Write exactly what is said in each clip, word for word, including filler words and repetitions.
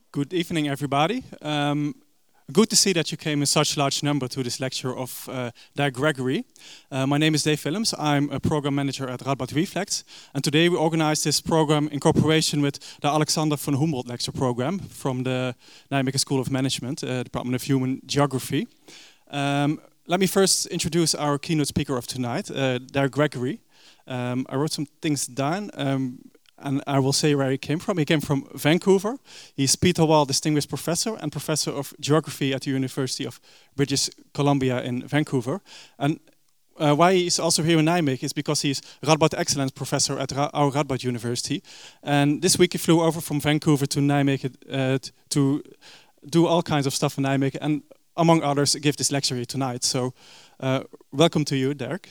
Good evening, everybody. Um, good to see that you came in such large number to this lecture of uh, Dirk Gregory. Uh, my name is Dave Willems. I'm a program manager at Radboud Reflect. And today we organize this program in cooperation with the Alexander von Humboldt Lecture Program from the Nijmegen School of Management, uh, Department of Human Geography. Um, let me first introduce our keynote speaker of tonight, uh, Dirk Gregory. Um, I wrote some things down. Um, And I will say where he came from. He came from Vancouver. He's Peter Wall Distinguished Professor and Professor of Geography at the University of British Columbia in Vancouver. And uh, why he's also here in Nijmegen is because he's Radboud Excellence Professor at Ra our Radboud University. And this week he flew over from Vancouver to Nijmegen uh, to do all kinds of stuff in Nijmegen. And among others, give this lecture here tonight. So uh, welcome to you, Dirk.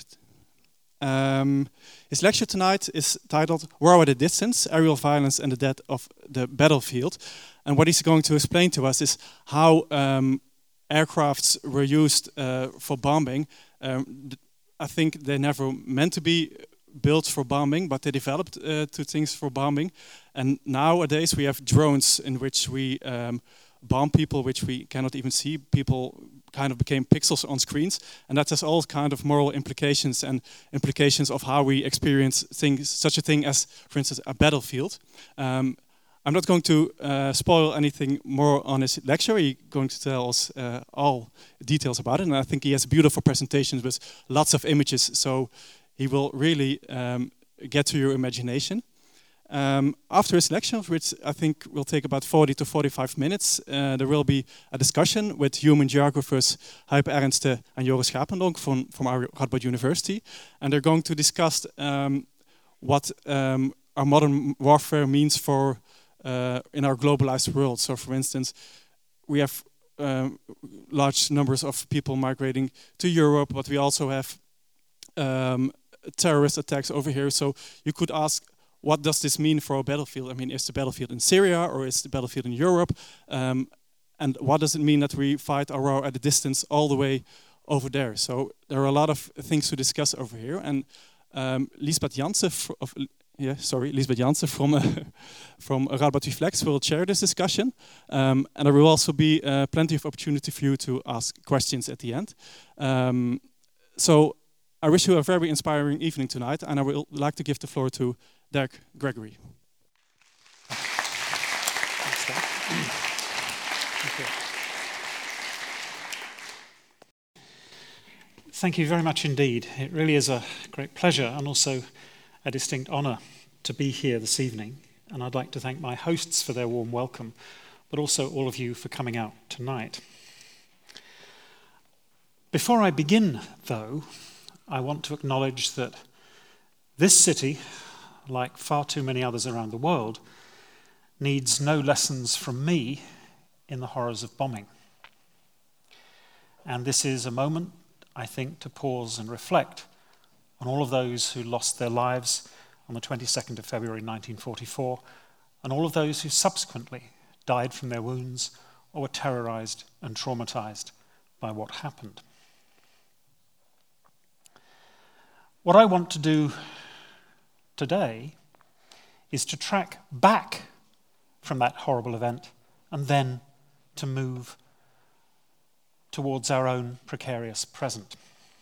Um, his lecture tonight is titled War at a Distance, Aerial Violence and the Death of the Battlefield. And what he's going to explain to us is how um, aircrafts were used uh, for bombing. Um, I think they never meant to be built for bombing, but they developed uh, to things for bombing. And nowadays we have drones in which we um, bomb people which we cannot even see. People kind of became pixels on screens, and that has all kind of moral implications and implications of how we experience things, such a thing as, for instance, a battlefield. Um, I'm not going to uh, spoil anything more on his lecture. He's going to tell us uh, all details about it, and I think he has beautiful presentations with lots of images, so he will really um, get to your imagination. Um, after his lecture, which I think will take about forty to forty-five minutes, uh, there will be a discussion with human geographers Huip Ernste and Joris Schapendonk from, from our Radboud University. And they're going to discuss um, what um, our modern warfare means for uh, in our globalized world. So for instance, we have um, large numbers of people migrating to Europe, but we also have um, terrorist attacks over here. So you could ask, what does this mean for a battlefield? I mean, is the battlefield in Syria or is the battlefield in Europe? Um, and what does it mean that we fight our war at a distance all the way over there? So there are a lot of things to discuss over here. And um, Liesbeth Jansen, of, yeah, sorry, Liesbeth Jansen from uh, from Radboud Reflect will chair this discussion. Um, and there will also be uh, plenty of opportunity for you to ask questions at the end. Um, so I wish you a very inspiring evening tonight, and I would like to give the floor to Dirk Gregory. Thanks, Dirk. Thank you. Thank you very much indeed. It really is a great pleasure and also a distinct honour to be here this evening. And I'd like to thank my hosts for their warm welcome, but also all of you for coming out tonight. Before I begin, though, I want to acknowledge that this city, like far too many others around the world, needs no lessons from me in the horrors of bombing. And this is a moment, I think, to pause and reflect on all of those who lost their lives on the twenty-second of February nineteen forty-four, and all of those who subsequently died from their wounds or were terrorized and traumatized by what happened. What I want to do today is to track back from that horrible event and then to move towards our own precarious present.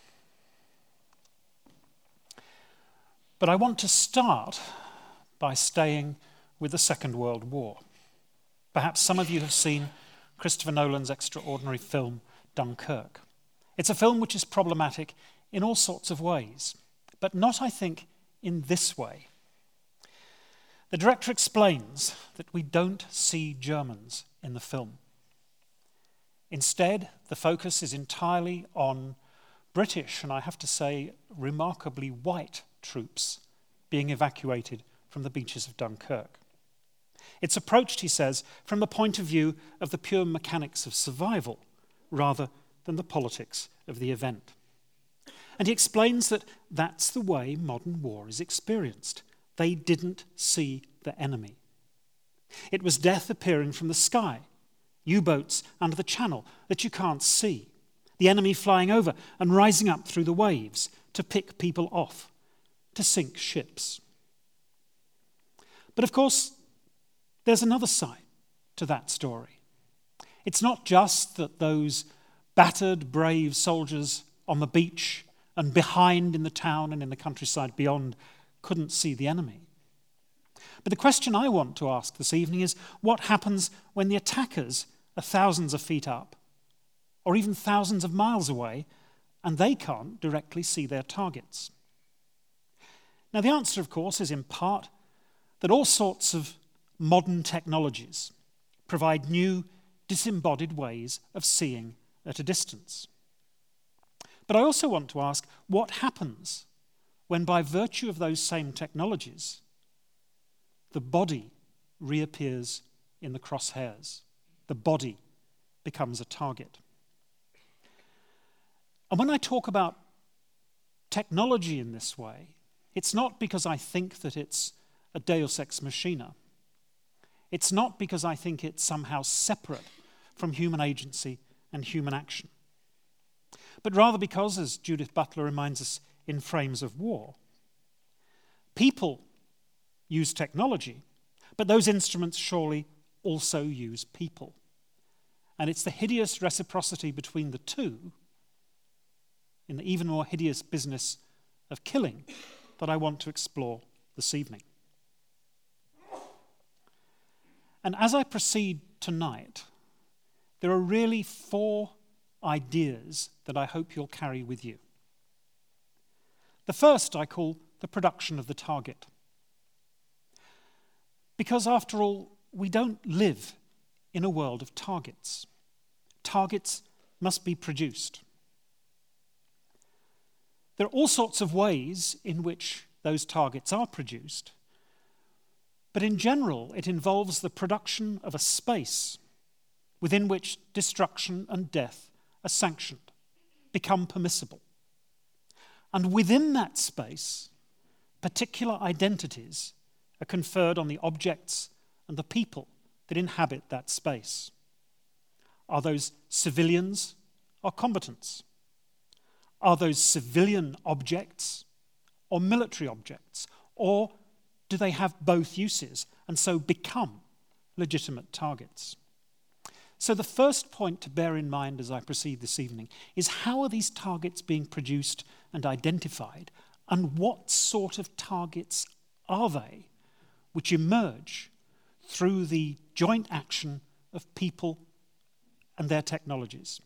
But I want to start by staying with the Second World War. Perhaps some of you have seen Christopher Nolan's extraordinary film Dunkirk. It's a film which is problematic in all sorts of ways, but not, I think, in this way. The director explains that we don't see Germans in the film. Instead, the focus is entirely on British, and I have to say, remarkably white troops being evacuated from the beaches of Dunkirk. It's approached, he says, from the point of view of the pure mechanics of survival, rather than the politics of the event. And he explains that that's the way modern war is experienced. They didn't see the enemy. It was death appearing from the sky, U-boats under the channel that you can't see, the enemy flying over and rising up through the waves to pick people off, to sink ships. But of course, there's another side. to that story. It's not just that those battered, brave soldiers on the beach and behind in the town and in the countryside beyond couldn't see the enemy. But the question I want to ask this evening is, what happens when the attackers are thousands of feet up, or even thousands of miles away, and they can't directly see their targets? Now, the answer, of course, is in part that all sorts of modern technologies provide new, disembodied ways of seeing at a distance. But I also want to ask, what happens when, by virtue of those same technologies, the body reappears in the crosshairs? The body becomes a target. And when I talk about technology in this way, it's not because I think that it's a deus ex machina. It's not because I think it's somehow separate from human agency and human action. But rather because, as Judith Butler reminds us in Frames of War, people use technology, but those instruments surely also use people. And it's the hideous reciprocity between the two, in the even more hideous business of killing, that I want to explore this evening. And as I proceed tonight, there are really four ideas that I hope you'll carry with you. The first I call the production of the target. Because after all, we don't live in a world of targets. Targets must be produced. There are all sorts of ways in which those targets are produced, but in general, it involves the production of a space within which destruction and death are sanctioned, become permissible. And within that space, particular identities are conferred on the objects and the people that inhabit that space. Are those civilians or combatants? Are those civilian objects or military objects? Or do they have both uses and so become legitimate targets? So the first point to bear in mind as I proceed this evening is, how are these targets being produced and identified, and what sort of targets are they which emerge through the joint action of people and their technologies?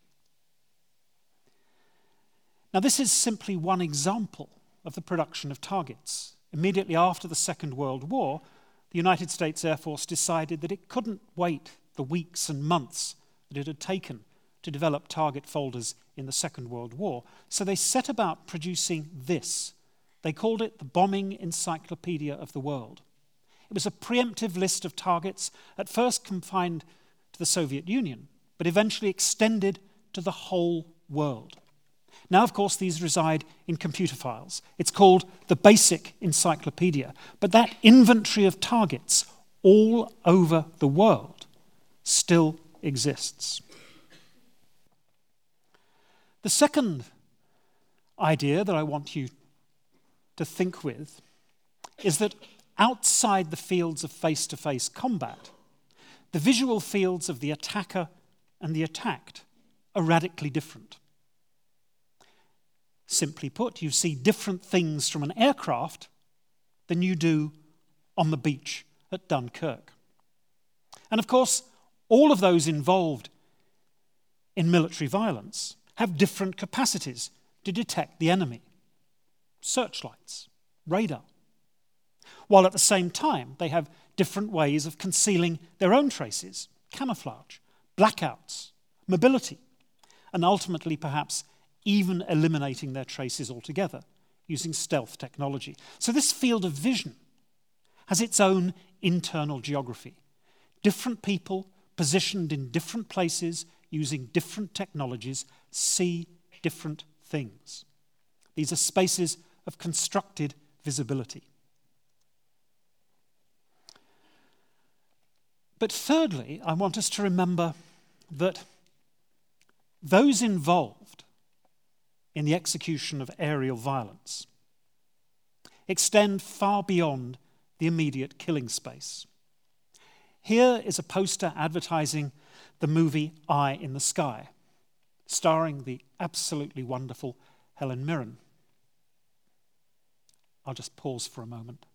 Now, this is simply one example of the production of targets. Immediately after the Second World War, the United States Air Force decided that it couldn't wait the weeks and months that it had taken to develop target folders in the Second World War. So they set about producing this. They called it the Bombing Encyclopedia of the World. It was a preemptive list of targets, at first confined to the Soviet Union, but eventually extended to the whole world. Now, of course, these reside in computer files. It's called the Basic Encyclopedia. But that inventory of targets all over the world still exists. The second idea that I want you to think with is that outside the fields of face-to-face combat, the visual fields of the attacker and the attacked are radically different. Simply put, you see different things from an aircraft than you do on the beach at Dunkirk. And of course, all of those involved in military violence have different capacities to detect the enemy. Searchlights, radar. While at the same time, they have different ways of concealing their own traces, camouflage, blackouts, mobility, and ultimately perhaps even eliminating their traces altogether using stealth technology. So this field of vision has its own internal geography. Different people positioned in different places using different technologies see different things. These are spaces of constructed visibility. But thirdly, I want us to remember that those involved in the execution of aerial violence extend far beyond the immediate killing space. Here is a poster advertising the movie Eye in the Sky, starring the absolutely wonderful Helen Mirren. I'll just pause for a moment.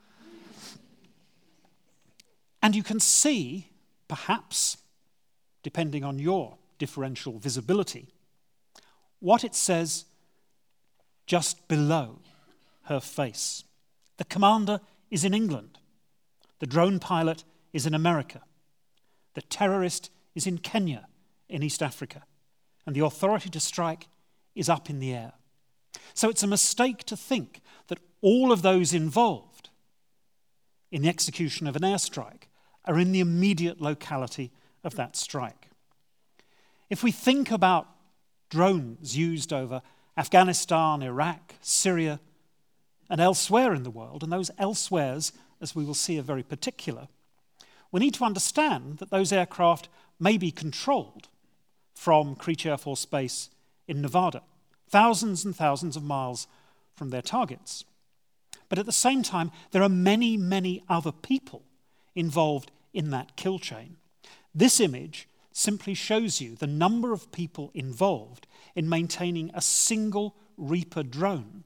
And you can see, perhaps, depending on your differential visibility, what it says just below her face. The commander is in England. The drone pilot is in America. The terrorist is in Kenya, in East Africa. And the authority to strike is up in the air. So it's a mistake to think that all of those involved in the execution of an airstrike are in the immediate locality of that strike. If we think about drones used over Afghanistan, Iraq, Syria, and elsewhere in the world, and those elsewheres, as we will see, are very particular, we need to understand that those aircraft may be controlled from Creech Air Force Base in Nevada, thousands and thousands of miles from their targets. But at the same time, there are many, many other people involved in that kill chain. This image simply shows you the number of people involved in maintaining a single Reaper drone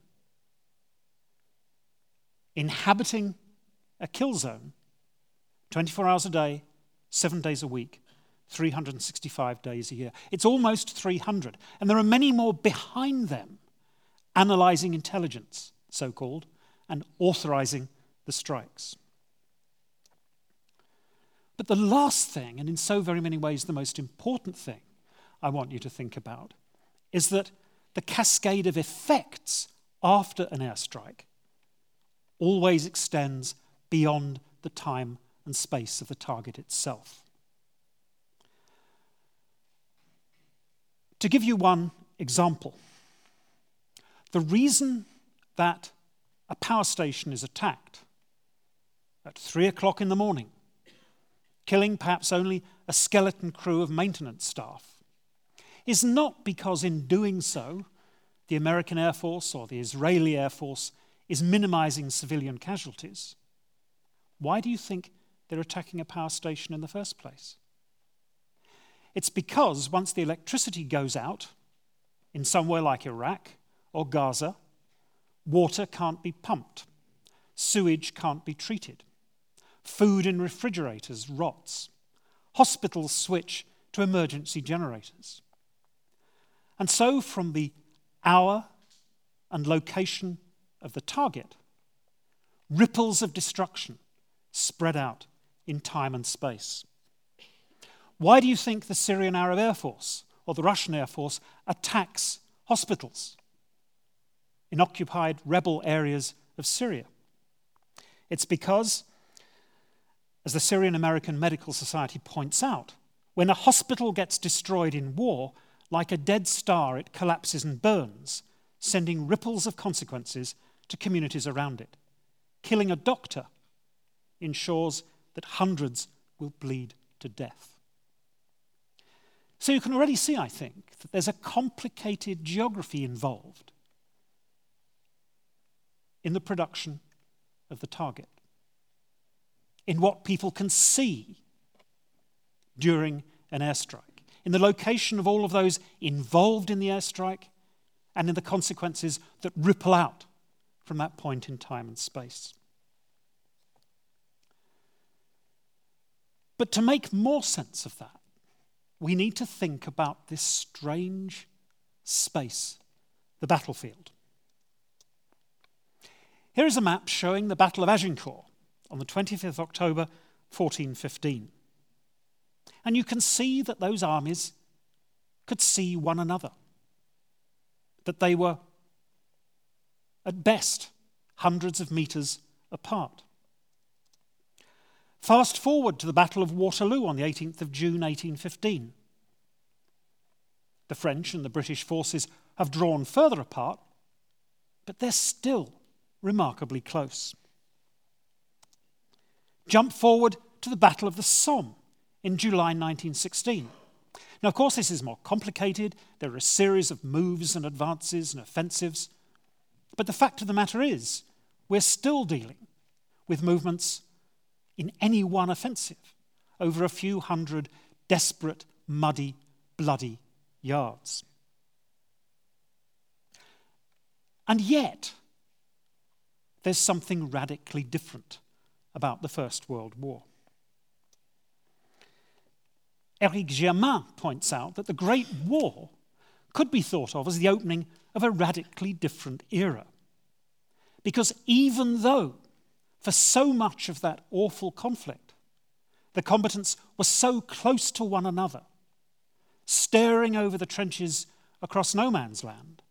inhabiting a kill zone twenty-four hours a day, seven days a week, three hundred sixty-five days a year. It's almost three hundred. And there are many more behind them analyzing intelligence, so-called, and authorizing the strikes. But the last thing, and in so very many ways the most important thing I want you to think about, is that the cascade of effects after an airstrike always extends beyond the time and space of the target itself. To give you one example, the reason that a power station is attacked at three o'clock in the morning, killing perhaps only a skeleton crew of maintenance staff, is not because in doing so the American Air Force or the Israeli Air Force is minimizing civilian casualties. Why do you think they're attacking a power station in the first place? It's because once the electricity goes out, in somewhere like Iraq or Gaza, water can't be pumped, sewage can't be treated, food in refrigerators rots, hospitals switch to emergency generators. And so from the hour and location of the target, ripples of destruction spread out in time and space. Why do you think the Syrian Arab Air Force or the Russian Air Force attacks hospitals in occupied rebel areas of Syria? It's because, as the Syrian American Medical Society points out, when a hospital gets destroyed in war, like a dead star, it collapses and burns, sending ripples of consequences to communities around it. Killing a doctor ensures that hundreds will bleed to death. So you can already see, I think, that there's a complicated geography involved in the production of the target, in what people can see during an airstrike, in the location of all of those involved in the airstrike, and in the consequences that ripple out from that point in time and space. But to make more sense of that, we need to think about this strange space, the battlefield. Here is a map showing the Battle of Agincourt on the twenty-fifth of October, fourteen fifteen. And you can see that those armies could see one another, that they were, at best, hundreds of meters apart. Fast forward to the Battle of Waterloo on the eighteenth of June, eighteen fifteen. The French and the British forces have drawn further apart, but they're still remarkably close. Jump forward to the Battle of the Somme in July nineteen sixteen. Now, of course, this is more complicated. There are a series of moves and advances and offensives. But the fact of the matter is, we're still dealing with movements in any one offensive over a few hundred desperate, muddy, bloody yards. And yet, there's something radically different about the First World War. Éric Germain points out that the Great War could be thought of as the opening of a radically different era. Because even though, for so much of that awful conflict, the combatants were so close to one another, staring over the trenches across no man's land,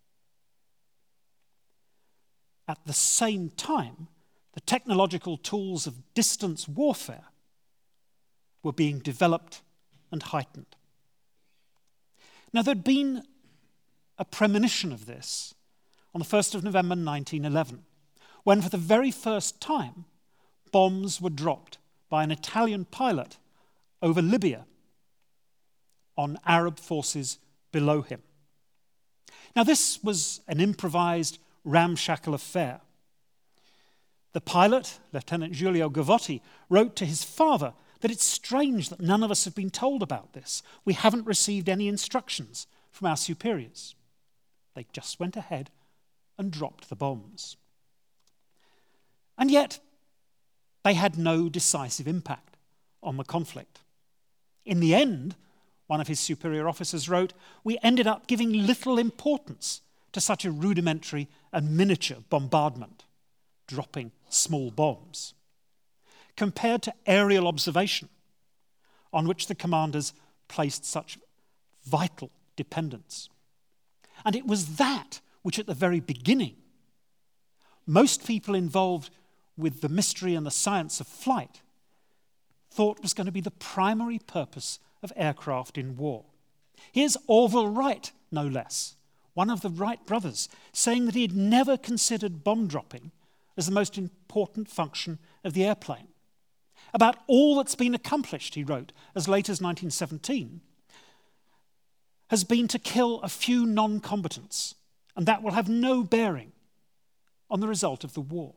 at the same time, the technological tools of distance warfare were being developed and heightened. Now, there'd been a premonition of this on the first of November nineteen eleven, when for the very first time bombs were dropped by an Italian pilot over Libya on Arab forces below him. Now, this was an improvised, ramshackle affair. The pilot, Lieutenant Giulio Gavotti, wrote to his father that it's strange that none of us have been told about this. We haven't received any instructions from our superiors. They just went ahead and dropped the bombs. And yet, they had no decisive impact on the conflict. In the end, one of his superior officers wrote, we ended up giving little importance to such a rudimentary and miniature bombardment, dropping small bombs, compared to aerial observation, on which the commanders placed such vital dependence. And it was that which at the very beginning, most people involved with the mystery and the science of flight thought was going to be the primary purpose of aircraft in war. Here's Orville Wright, no less, one of the Wright brothers, saying that he had never considered bomb dropping as the most important function of the airplane. About all that's been accomplished, he wrote, as late as nineteen seventeen, has been to kill a few non-combatants, and that will have no bearing on the result of the war.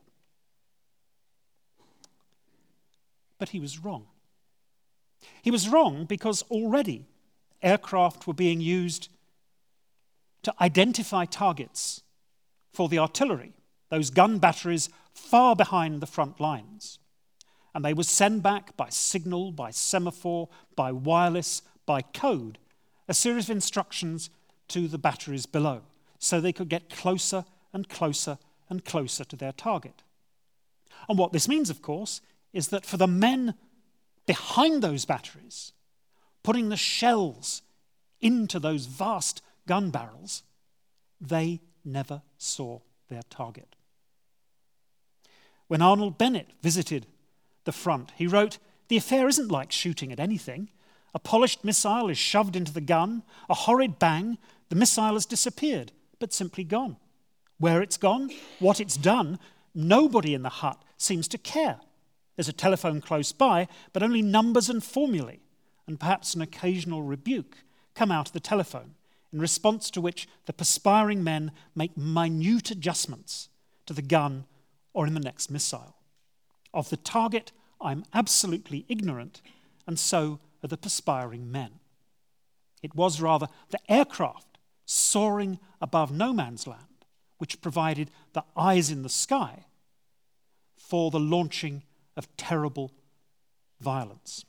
But he was wrong. He was wrong because already aircraft were being used to identify targets for the artillery, those gun batteries far behind the front lines. And they would send back by signal, by semaphore, by wireless, by code, a series of instructions to the batteries below, so they could get closer and closer and closer to their target. And what this means, of course, is that for the men behind those batteries, putting the shells into those vast gun barrels, they never saw their target. When Arnold Bennett visited the front, he wrote, the affair isn't like shooting at anything. A polished missile is shoved into the gun, a horrid bang, the missile has disappeared, but simply gone. Where it's gone, what it's done, nobody in the hut seems to care. There's a telephone close by, but only numbers and formulae, and perhaps an occasional rebuke, come out of the telephone, in response to which the perspiring men make minute adjustments to the gun or in the next missile. Of the target, I'm absolutely ignorant, and so are the perspiring men. It was rather the aircraft soaring above no man's land which provided the eyes in the sky for the launching of terrible violence.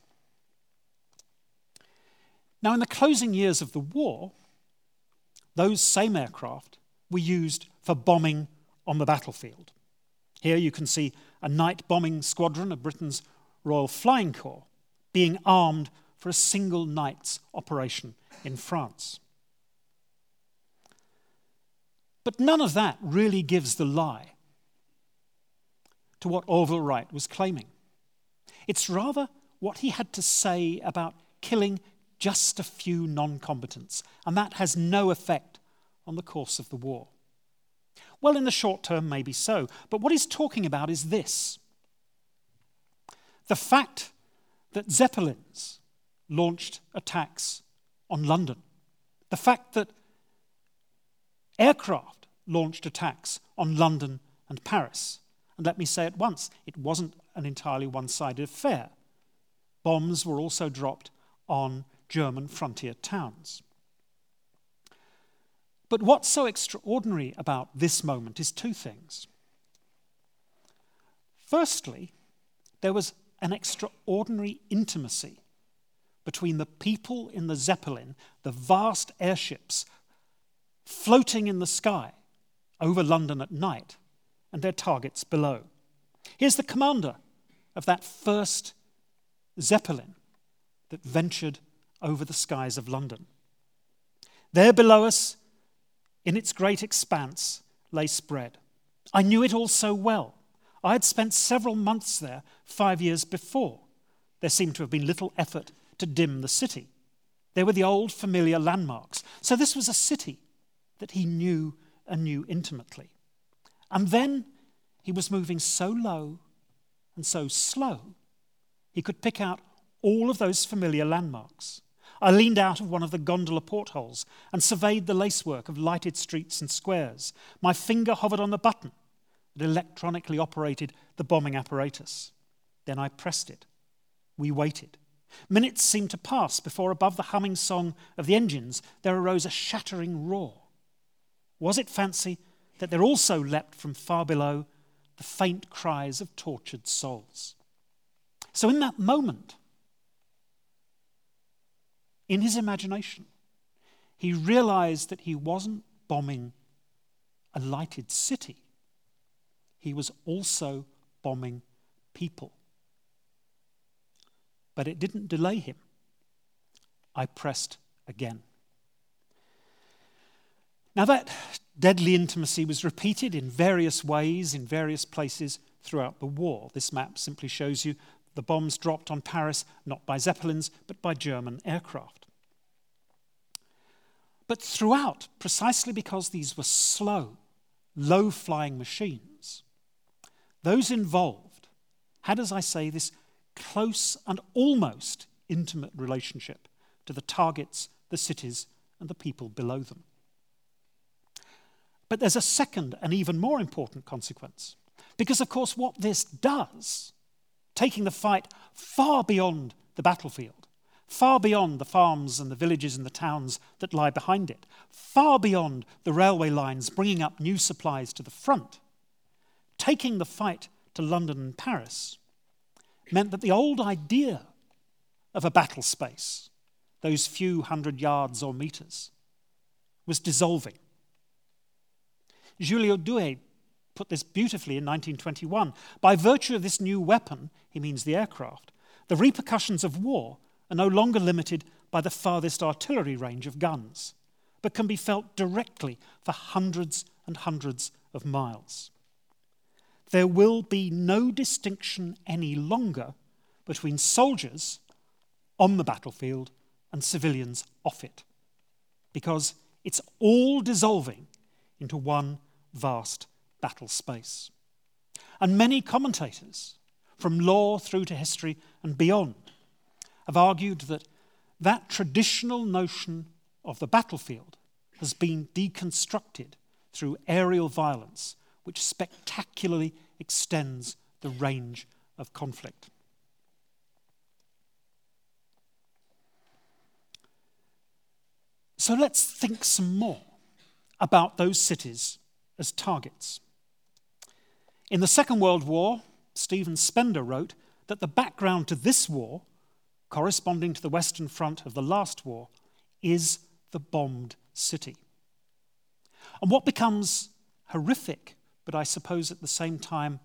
Now, in the closing years of the war, those same aircraft were used for bombing on the battlefield. Here you can see a night bombing squadron of Britain's Royal Flying Corps being armed for a single night's operation in France. But none of that really gives the lie to what Orville Wright was claiming. It's rather what he had to say about killing just a few non-combatants, and that has no effect on the course of the war. Well, in the short term, maybe so, but what he's talking about is this. The fact that Zeppelins launched attacks on London, the fact that aircraft launched attacks on London and Paris, and let me say at once, it wasn't an entirely one-sided affair. bombs were also dropped on German frontier towns. But what's so extraordinary about this moment is two things. Firstly, there was an extraordinary intimacy between the people in the Zeppelin, the vast airships floating in the sky over London at night, and their targets below. Here's the commander of that first Zeppelin that ventured over the skies of London. There below us, in its great expanse, lay spread. I knew it all so well. I had spent several months there five years before. There seemed to have been little effort to dim the city. There were the old familiar landmarks. So this was a city that he knew and knew intimately. And then he was moving so low and so slow, he could pick out all of those familiar landmarks. I leaned out of one of the gondola portholes and surveyed the lacework of lighted streets and squares. My finger hovered on the button that electronically operated the bombing apparatus. Then I pressed it. We waited. Minutes seemed to pass before, above the humming song of the engines, there arose a shattering roar. Was it fancy that there also leapt from far below the faint cries of tortured souls? So in that moment, in his imagination, he realized that he wasn't bombing a lighted city. He was also bombing people. But it didn't delay him. I pressed again. Now that deadly intimacy was repeated in various ways, in various places throughout the war. This map simply shows you the bombs dropped on Paris, not by Zeppelins, but by German aircraft. But throughout, precisely because these were slow, low-flying machines, those involved had, as I say, this close and almost intimate relationship to the targets, the cities, and the people below them. But there's a second and even more important consequence. Because, of course, what this does, taking the fight far beyond the battlefield, far beyond the farms and the villages and the towns that lie behind it, far beyond the railway lines bringing up new supplies to the front, taking the fight to London and Paris, meant that the old idea of a battle space, those few hundred yards or meters, was dissolving. Giulio Douhet put this beautifully in nineteen twenty-one. By virtue of this new weapon, he means the aircraft, the repercussions of war are no longer limited by the farthest artillery range of guns, but can be felt directly for hundreds and hundreds of miles. There will be no distinction any longer between soldiers on the battlefield and civilians off it, because it's all dissolving into one vast battle space. And many commentators, from law through to history and beyond, have argued that that traditional notion of the battlefield has been deconstructed through aerial violence, which spectacularly extends the range of conflict. So let's think some more about those cities as targets. In the Second World War, Stephen Spender wrote that the background to this war, corresponding to the Western Front of the last war, is the bombed city. And what becomes horrific, but I suppose at the same time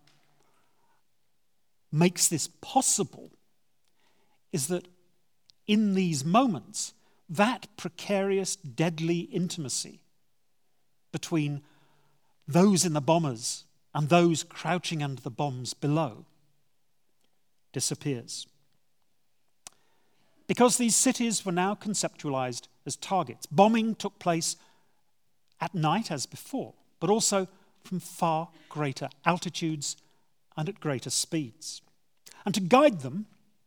makes this possible, is that in these moments, that precarious, deadly intimacy between those in the bombers and those crouching under the bombs below disappears. Because these cities were now conceptualized as targets. Bombing took place at night as before, but also from far greater altitudes and at greater speeds. And to guide them,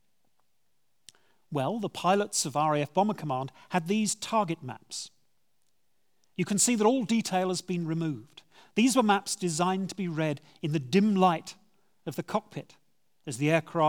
well, the pilots of R A F Bomber Command had these target maps. You can see that all detail has been removed. These were maps designed to be read in the dim light of the cockpit as the aircraft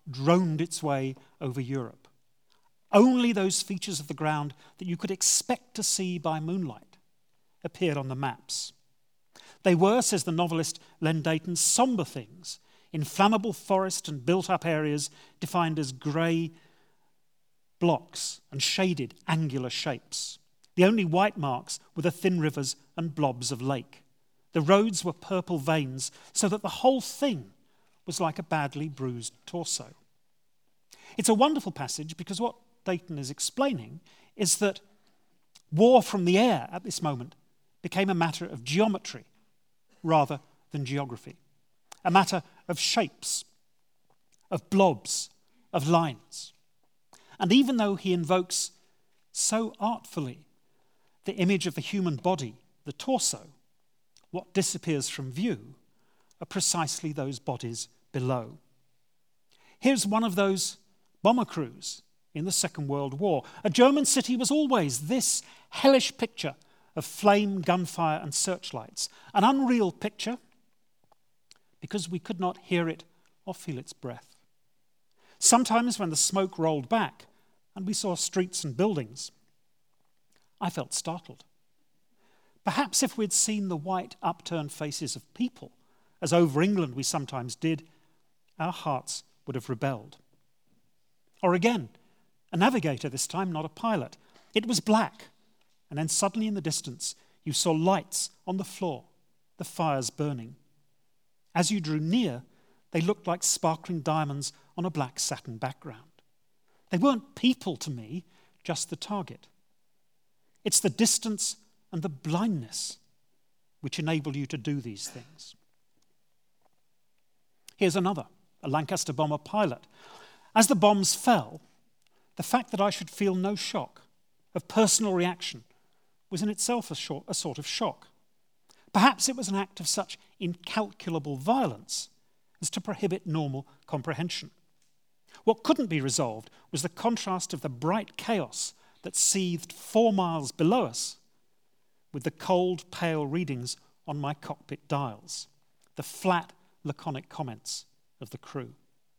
droned its way over Europe. Only those features of the ground that you could expect to see by moonlight appeared on the maps. They were, says the novelist Len Deighton, sombre things, inflammable forest and built-up areas defined as grey blocks and shaded angular shapes. The only white marks were the thin rivers and blobs of lake. The roads were purple veins, so that the whole thing was like a badly bruised torso. It's a wonderful passage because what Deighton is explaining is that war from the air at this moment became a matter of geometry rather than geography, a matter of shapes, of blobs, of lines. And even though he invokes so artfully the image of the human body, the torso, what disappears from view are precisely those bodies below. Here's one of those bomber crews in the Second World War. A German city was always this hellish picture of flame, gunfire, and searchlights. An unreal picture because we could not hear it or feel its breath. Sometimes when the smoke rolled back and we saw streets and buildings, I felt startled. Perhaps if we'd seen the white upturned faces of people, as over England we sometimes did, our hearts would have rebelled. Or again, a navigator this time, not a pilot. It was black, and then suddenly in the distance you saw lights on the floor, the fires burning. As you drew near, they looked like sparkling diamonds on a black satin background. They weren't people to me, just the target. It's the distance and the blindness which enable you to do these things. Here's another, a Lancaster bomber pilot. As the bombs fell, the fact that I should feel no shock of personal reaction was in itself a, short, a sort of shock. Perhaps it was an act of such incalculable violence as to prohibit normal comprehension. What couldn't be resolved was the contrast of the bright chaos that seethed four miles below us with the cold, pale readings on my cockpit dials, the flat, laconic comments of the crew.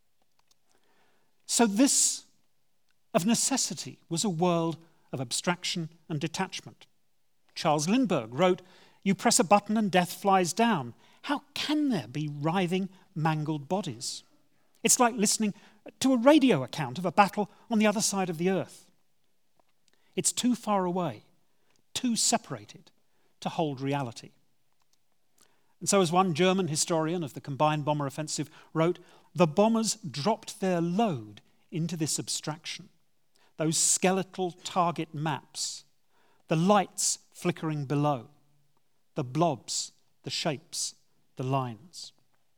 So this, of necessity, was a world of abstraction and detachment. Charles Lindbergh wrote, "You press a button and death flies down. How can there be writhing, mangled bodies? It's like listening to a radio account of a battle on the other side of the earth. It's too far away, too separated to hold reality." And so as one German historian of the combined bomber offensive wrote, the bombers dropped their load into this abstraction, those skeletal target maps, the lights flickering below, the blobs, the shapes, the lines.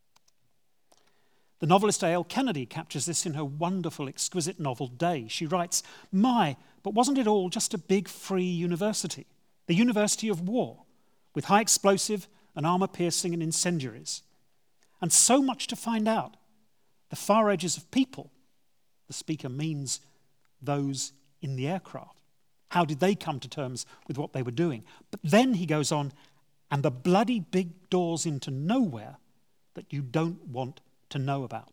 The novelist A L Kennedy captures this in her wonderful, exquisite novel Day. She writes, "My, but wasn't it all just a big free university? The university of war, with high explosive and armor-piercing and incendiaries. And so much to find out. The far edges of people," the speaker means those in the aircraft. How did they come to terms with what they were doing? But then he goes on, "and the bloody big doors into nowhere that you don't want to know about."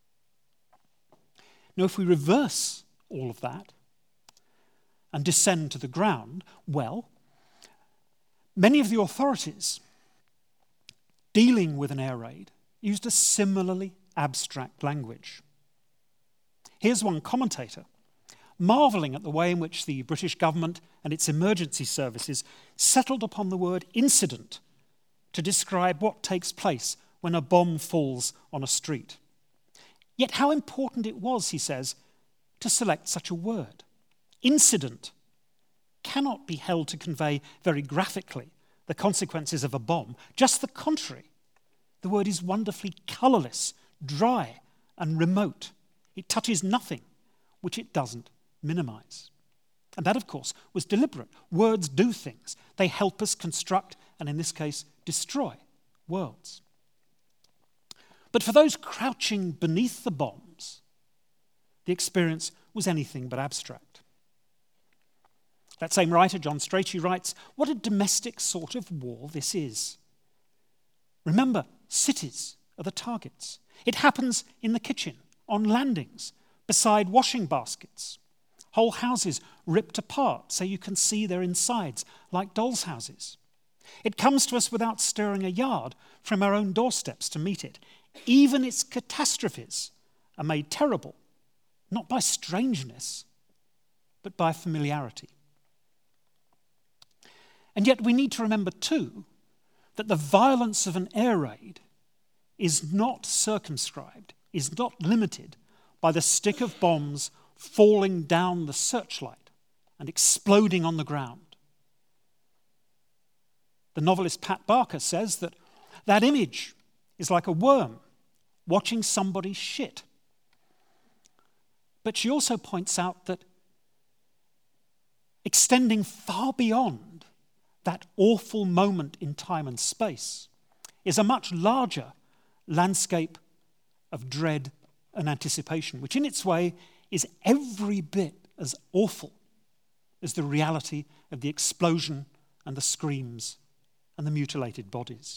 Now, if we reverse all of that and descend to the ground, well, many of the authorities dealing with an air raid used a similarly abstract language. Here's one commentator marvelling at the way in which the British government and its emergency services settled upon the word incident to describe what takes place when a bomb falls on a street. Yet how important it was, he says, to select such a word. Incident cannot be held to convey very graphically the consequences of a bomb. Just the contrary. The word is wonderfully colourless, dry, and remote. It touches nothing which it doesn't minimise. And that, of course, was deliberate. Words do things. They help us construct, and in this case, destroy worlds. But for those crouching beneath the bombs, the experience was anything but abstract. That same writer, John Strachey, writes, "What a domestic sort of war this is. Remember, cities are the targets. It happens in the kitchen, on landings, beside washing baskets. Whole houses ripped apart so you can see their insides like dolls' houses. It comes to us without stirring a yard from our own doorsteps to meet it. Even its catastrophes are made terrible, not by strangeness, but by familiarity. And yet we need to remember too that the violence of an air raid is not circumscribed, is not limited by the stick of bombs falling down the searchlight and exploding on the ground. The novelist Pat Barker says that that image is like a worm watching somebody shit. But she also points out that extending far beyond that awful moment in time and space is a much larger landscape of dread and anticipation, which in its way is every bit as awful as the reality of the explosion and the screams and the mutilated bodies.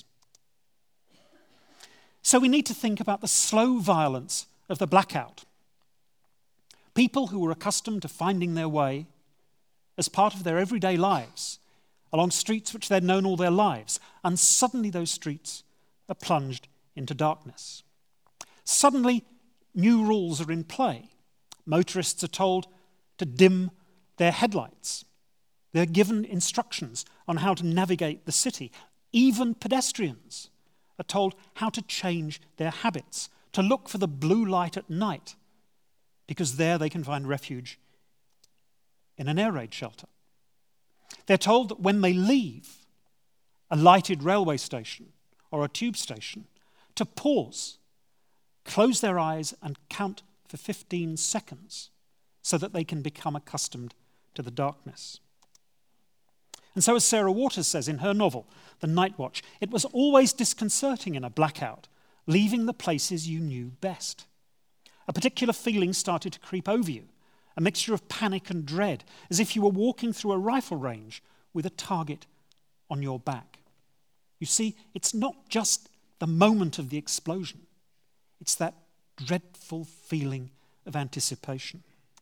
So we need to think about the slow violence of the blackout. People who were accustomed to finding their way as part of their everyday lives along streets which they'd known all their lives, and suddenly those streets are plunged into darkness. Suddenly, new rules are in play. Motorists are told to dim their headlights. They're given instructions on how to navigate the city. Even pedestrians are told how to change their habits, to look for the blue light at night, because there they can find refuge in an air raid shelter. They're told that when they leave a lighted railway station or a tube station, to pause, close their eyes and count for fifteen seconds so that they can become accustomed to the darkness. And so, as Sarah Waters says in her novel, The Night Watch, it was always disconcerting in a blackout, leaving the places you knew best. A particular feeling started to creep over you, a mixture of panic and dread, as if you were walking through a rifle range with a target on your back. You see, it's not just the moment of the explosion. It's that dreadful feeling of anticipation.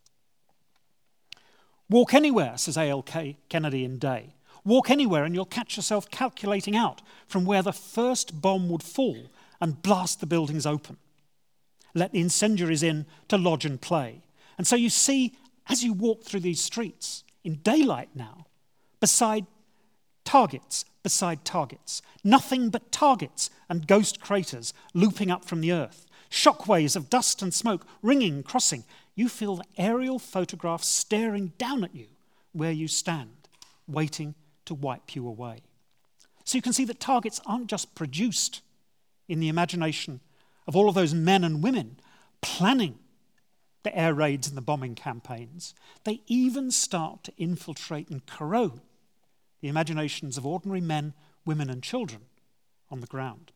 Walk anywhere, says A L Kennedy in Day. Walk anywhere and you'll catch yourself calculating out from where the first bomb would fall and blast the buildings open. Let the incendiaries in to lodge and play. And so you see, as you walk through these streets, in daylight now, beside targets, beside targets, nothing but targets and ghost craters looping up from the earth, shockwaves of dust and smoke ringing, crossing. You feel the aerial photographs staring down at you where you stand, waiting to wipe you away. So you can see that targets aren't just produced in the imagination of all of those men and women planning the air raids and the bombing campaigns. They even start to infiltrate and corrode the imaginations of ordinary men, women, and children on the ground.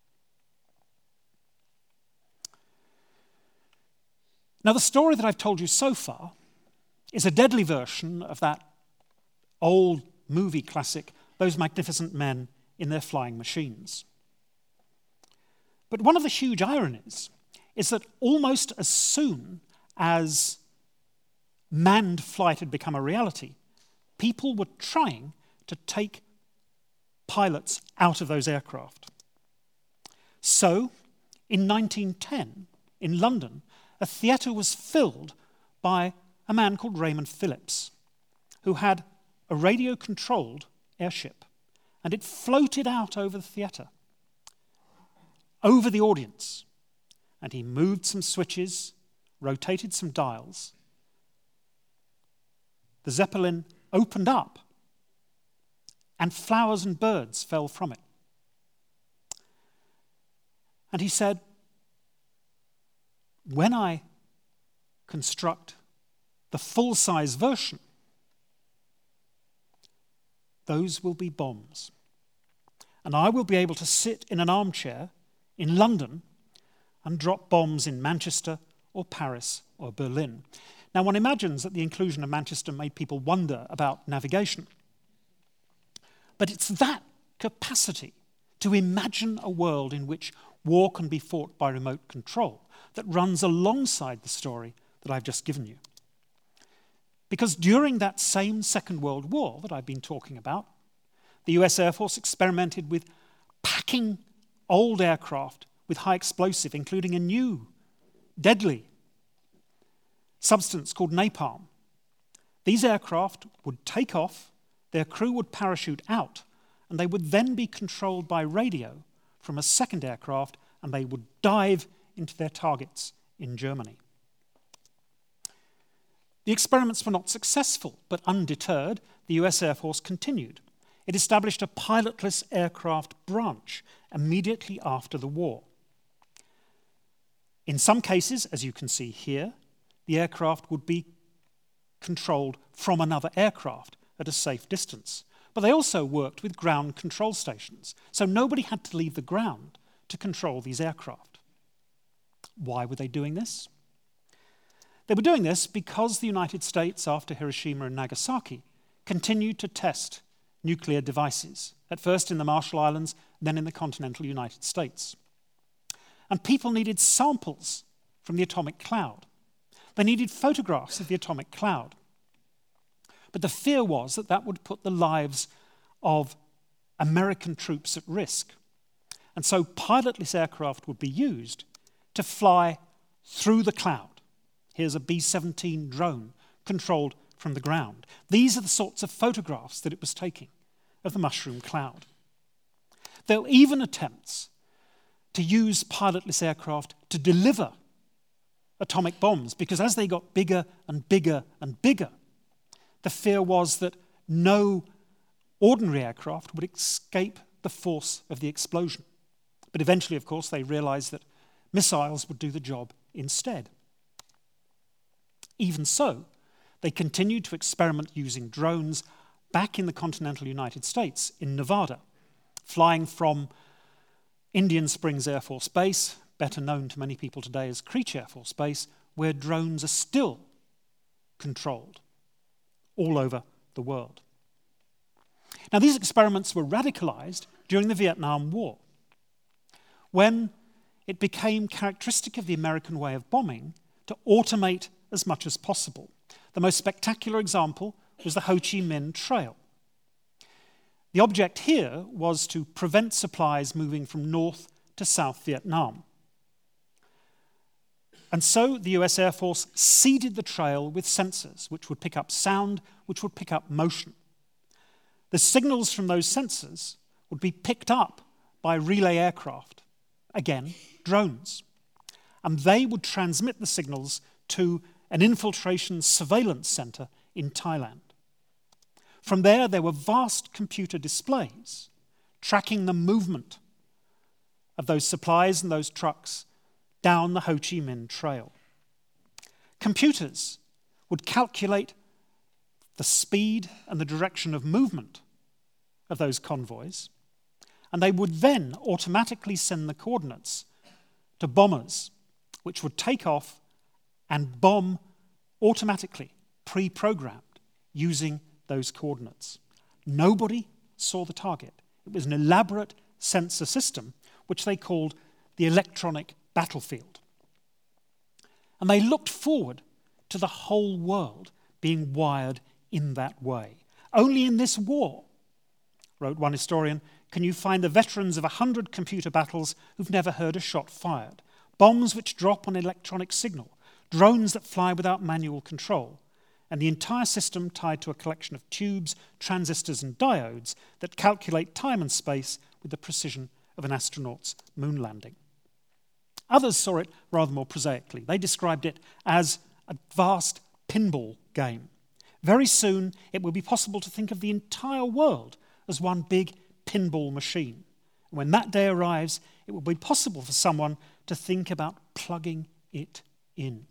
Now, the story that I've told you so far is a deadly version of that old movie classic, Those Magnificent Men in Their Flying Machines. But one of the huge ironies is that almost as soon as manned flight had become a reality, people were trying to take pilots out of those aircraft. So, in nineteen ten, in London, a theatre was filled by a man called Raymond Phillips, who had a radio-controlled airship, and it floated out over the theatre, over the audience, and he moved some switches, rotated some dials. The Zeppelin opened up, and flowers and birds fell from it. And he said, when I construct the full-size version, those will be bombs. And I will be able to sit in an armchair in London and drop bombs in Manchester or Paris or Berlin. Now, one imagines that the inclusion of Manchester made people wonder about navigation. But it's that capacity to imagine a world in which war can be fought by remote control that runs alongside the story that I've just given you. Because during that same Second World War that I've been talking about, the U S Air Force experimented with packing old aircraft with high explosive, including a new, deadly substance called napalm. These aircraft would take off, their crew would parachute out, and they would then be controlled by radio from a second aircraft, and they would dive into their targets in Germany. The experiments were not successful, but undeterred, the U S Air Force continued. It established a pilotless aircraft branch immediately after the war. In some cases, as you can see here, the aircraft would be controlled from another aircraft at a safe distance. But they also worked with ground control stations, so nobody had to leave the ground to control these aircraft. Why were they doing this? They were doing this because the United States, after Hiroshima and Nagasaki, continued to test nuclear devices, at first in the Marshall Islands, then in the continental United States. And people needed samples from the atomic cloud. They needed photographs of the atomic cloud. But the fear was that that would put the lives of American troops at risk. And so pilotless aircraft would be used to fly through the cloud. Here's a B seventeen drone controlled from the ground. These are the sorts of photographs that it was taking of the mushroom cloud. There were even attempts to use pilotless aircraft to deliver atomic bombs, because as they got bigger and bigger and bigger, the fear was that no ordinary aircraft would escape the force of the explosion. But eventually, of course, they realized that missiles would do the job instead. Even so, they continued to experiment using drones back in the continental United States, in Nevada, flying from Indian Springs Air Force Base, better known to many people today as Creech Air Force Base, where drones are still controlled all over the world. Now, these experiments were radicalized during the Vietnam War, when it became characteristic of the American way of bombing to automate as much as possible. The most spectacular example was the Ho Chi Minh Trail. The object here was to prevent supplies moving from North to South Vietnam. And so the U S Air Force seeded the trail with sensors, which would pick up sound, which would pick up motion. The signals from those sensors would be picked up by relay aircraft, again, drones. And they would transmit the signals to an infiltration surveillance center in Thailand. From there, there were vast computer displays tracking the movement of those supplies and those trucks down the Ho Chi Minh Trail. Computers would calculate the speed and the direction of movement of those convoys, and they would then automatically send the coordinates to bombers, which would take off and bomb automatically, pre-programmed, using those coordinates. Nobody saw the target. It was an elaborate sensor system, which they called the electronic battlefield. And they looked forward to the whole world being wired in that way. Only in this war, wrote one historian, can you find the veterans of a hundred computer battles who've never heard a shot fired, bombs which drop on electronic signal, drones that fly without manual control, and the entire system tied to a collection of tubes, transistors, and diodes that calculate time and space with the precision of an astronaut's moon landing. Others saw it rather more prosaically. They described it as a vast pinball game. Very soon, it will be possible to think of the entire world as one big pinball machine. And when that day arrives, it will be possible for someone to think about plugging it in.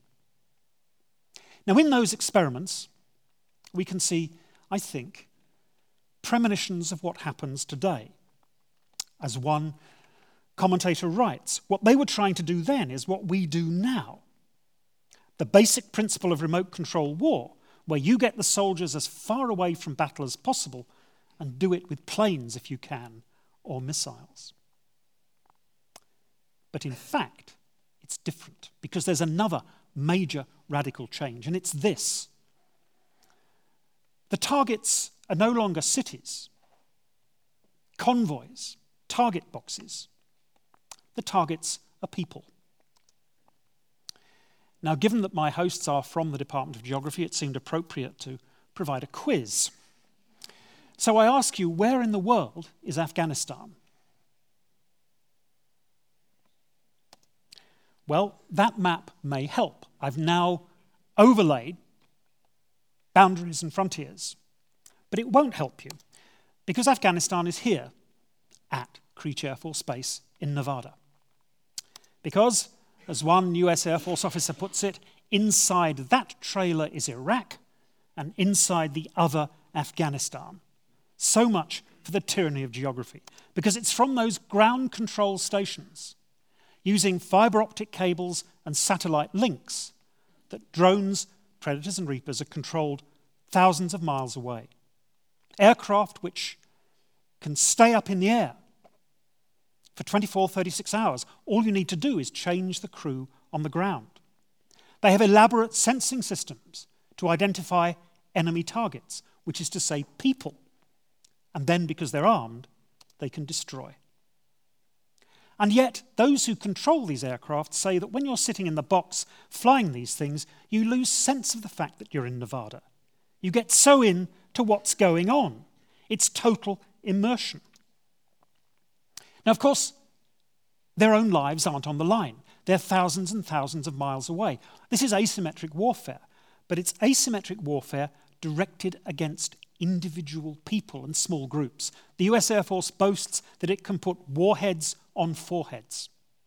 Now, in those experiments, we can see, I think, premonitions of what happens today. As one commentator writes, what they were trying to do then is what we do now. The basic principle of remote control war, where you get the soldiers as far away from battle as possible and do it with planes if you can, or missiles. But in fact, it's It's different because there's another major radical change, and it's this. The targets are no longer cities, convoys, target boxes. The targets are people. Now, given that my hosts are from the Department of Geography, it seemed appropriate to provide a quiz. So I ask you, where in the world is Afghanistan? Well, that map may help. I've now overlaid boundaries and frontiers. But it won't help you, because Afghanistan is here at Creech Air Force Base in Nevada. Because, as one U S Air Force officer puts it, inside that trailer is Iraq, and inside the other, Afghanistan. So much for the tyranny of geography, because it's from those ground control stations, using fiber optic cables and satellite links, that drones, Predators and Reapers are controlled thousands of miles away. Aircraft which can stay up in the air for twenty-four, thirty-six hours. All you need to do is change the crew on the ground. They have elaborate sensing systems to identify enemy targets, which is to say people. And then, because they're armed, they can destroy. And yet, those who control these aircraft say that when you're sitting in the box flying these things, you lose sense of the fact that you're in Nevada. You get so in to what's going on. It's total immersion. Now, of course, their own lives aren't on the line. They're thousands and thousands of miles away. This is asymmetric warfare, but it's asymmetric warfare directed against individual people and small groups. The U S Air Force boasts that it can put warheads on foreheads.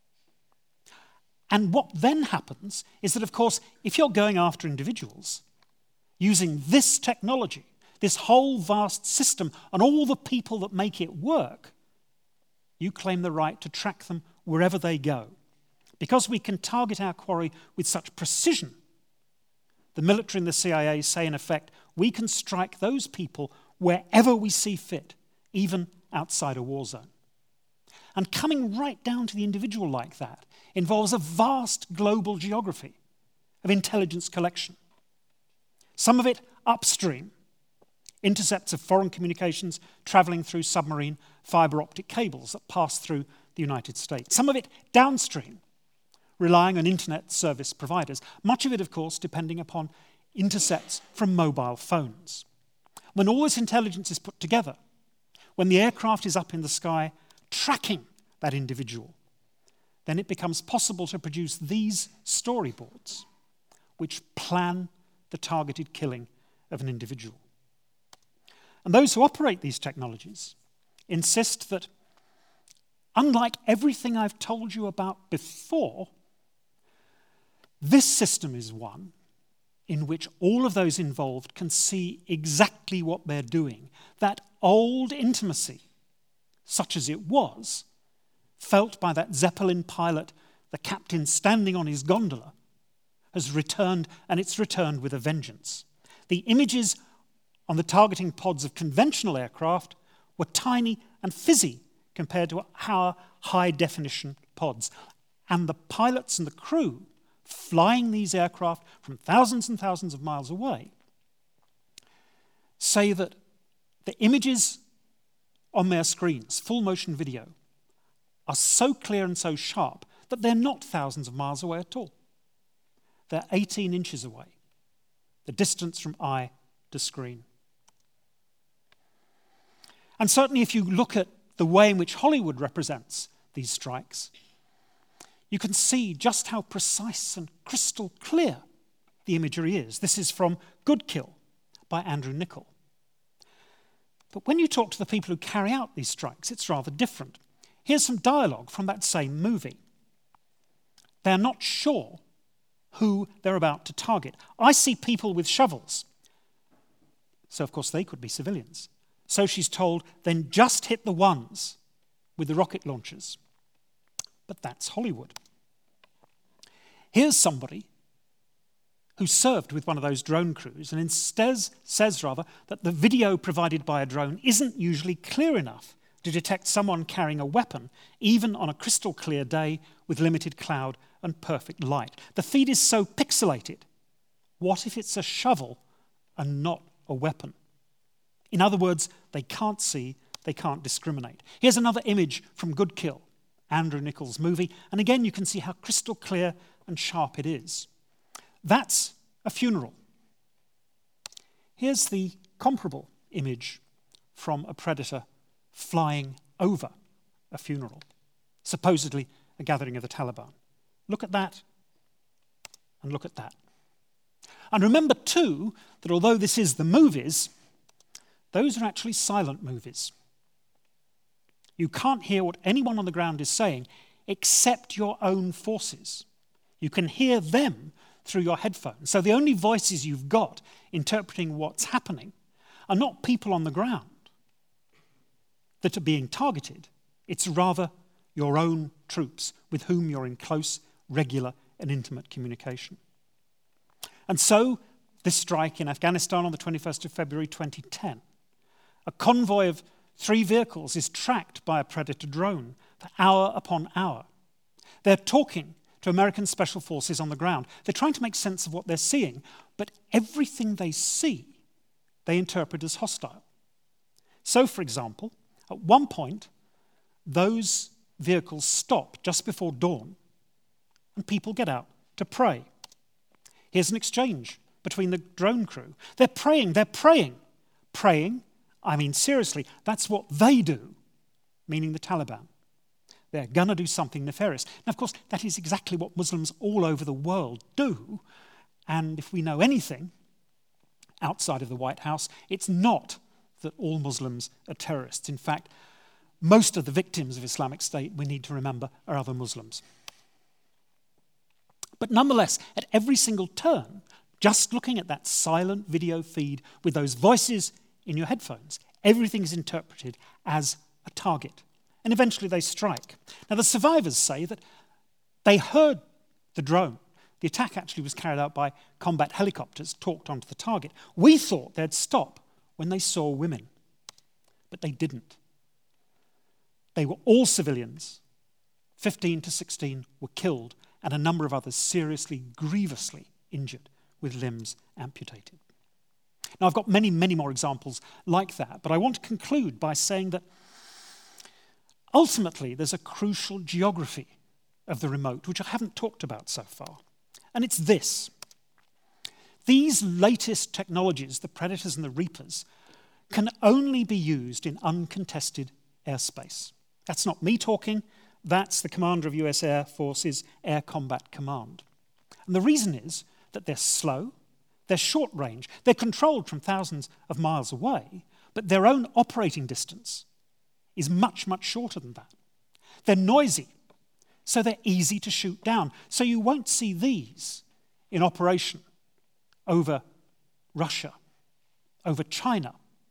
And what then happens is that, of course, if you're going after individuals, using this technology, this whole vast system, and all the people that make it work, you claim the right to track them wherever they go. Because we can target our quarry with such precision, the military and the C I A say, in effect, we can strike those people wherever we see fit, even outside a war zone. And coming right down to the individual like that involves a vast global geography of intelligence collection. Some of it upstream, intercepts of foreign communications travelling through submarine fibre optic cables that pass through the United States. Some of it downstream, relying on internet service providers. Much of it, of course, depending upon intercepts from mobile phones. When all this intelligence is put together, when the aircraft is up in the sky tracking that individual, then it becomes possible to produce these storyboards which plan the targeted killing of an individual. And those who operate these technologies insist that, unlike everything I've told you about before, this system is one in which all of those involved can see exactly what they're doing. That old intimacy, such as it was, felt by that Zeppelin pilot, the captain standing on his gondola, has returned, and it's returned with a vengeance. The images on the targeting pods of conventional aircraft were tiny and fizzy compared to our high-definition pods. And the pilots and the crew flying these aircraft from thousands and thousands of miles away say that the images on their screens, full motion video, are so clear and so sharp that they're not thousands of miles away at all. They're eighteen inches away, the distance from eye to screen. And certainly if you look at the way in which Hollywood represents these strikes, you can see just how precise and crystal clear the imagery is. This is from Good Kill by Andrew Niccol. But when you talk to the people who carry out these strikes, it's rather different. Here's some dialogue from that same movie. They're not sure who they're about to target. I see people with shovels. So, of course, they could be civilians. So she's told, then just hit the ones with the rocket launchers. But that's Hollywood. Here's somebody who served with one of those drone crews and instead says rather that the video provided by a drone isn't usually clear enough to detect someone carrying a weapon, even on a crystal clear day with limited cloud and perfect light. The feed is so pixelated. What if it's a shovel and not a weapon? In other words, they can't see, they can't discriminate. Here's another image from Good Kill, Andrew Nichols' movie, and again you can see how crystal clear and sharp it is. That's a funeral. Here's the comparable image from a predator flying over a funeral, supposedly a gathering of the Taliban. Look at that, and look at that. And remember too, that although this is the movies, those are actually silent movies. You can't hear what anyone on the ground is saying except your own forces. You can hear them through your headphones. So the only voices you've got interpreting what's happening are not people on the ground that are being targeted. It's rather your own troops with whom you're in close, regular, and intimate communication. And so, this strike in Afghanistan on the twenty-first of February twenty ten, a convoy of three vehicles is tracked by a Predator drone for hour upon hour. They're talking to American special forces on the ground. They're trying to make sense of what they're seeing, but everything they see, they interpret as hostile. So, for example, at one point, those vehicles stop just before dawn, and people get out to pray. Here's an exchange between the drone crew. They're praying, they're praying. Praying, I mean seriously, that's what they do, meaning the Taliban. They're going to do something nefarious. Now, of course, that is exactly what Muslims all over the world do. And if we know anything outside of the White House, it's not that all Muslims are terrorists. In fact, most of the victims of Islamic State, we need to remember, are other Muslims. But nonetheless, at every single turn, just looking at that silent video feed with those voices in your headphones, everything is interpreted as a target. And eventually they strike. Now, the survivors say that they heard the drone. The attack actually was carried out by combat helicopters talked onto the target. We thought they'd stop when they saw women, but they didn't. They were all civilians. fifteen to sixteen were killed, and a number of others seriously, grievously injured with limbs amputated. Now, I've got many, many more examples like that, but I want to conclude by saying that ultimately there's a crucial geography of the remote, which I haven't talked about so far, and it's this. These latest technologies, the Predators and the Reapers, can only be used in uncontested airspace. That's not me talking. That's the commander of U S Air Force's Air Combat Command. And the reason is that they're slow, they're short range, they're controlled from thousands of miles away, but their own operating distance is much, much shorter than that. They're noisy, so they're easy to shoot down. So you won't see these in operation over Russia, over China.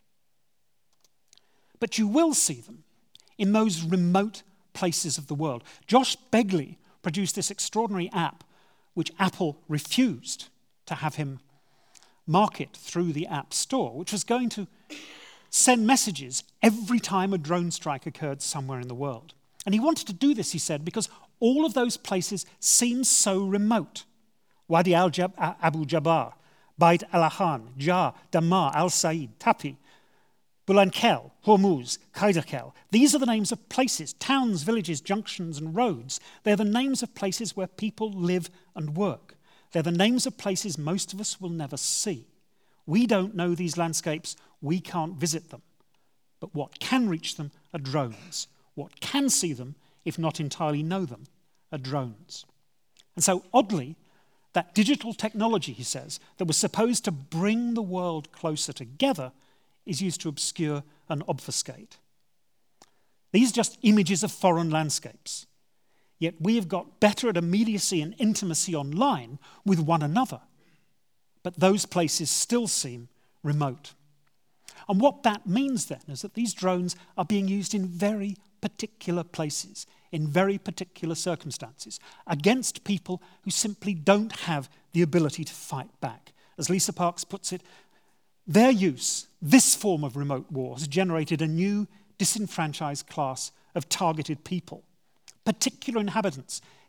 But you will see them in those remote places of the world. Josh Begley produced this extraordinary app which Apple refused to have him market through the App Store, which was going to send messages every time a drone strike occurred somewhere in the world. And he wanted to do this, he said, because all of those places seem so remote. Wadi al-Abu Jabbar, Bait al-Ahan, Jar, Dammar, Al-Said, Tapi, Bulankel, Hormuz, Kaidakel. These are the names of places, towns, villages, junctions, and roads. They're the names of places where people live and work. They're the names of places most of us will never see. We don't know these landscapes. We can't visit them. But what can reach them are drones. What can see them, if not entirely know them, are drones. And so, oddly, that digital technology, he says, that was supposed to bring the world closer together is used to obscure and obfuscate. These are just images of foreign landscapes. Yet we have got better at immediacy and intimacy online with one another. But those places still seem remote. And what that means then is that these drones are being used in very particular places, in very particular circumstances, against people who simply don't have the ability to fight back. As Lisa Parks puts it, their use, this form of remote war, has generated a new disenfranchised class of targeted people, particular inhabitants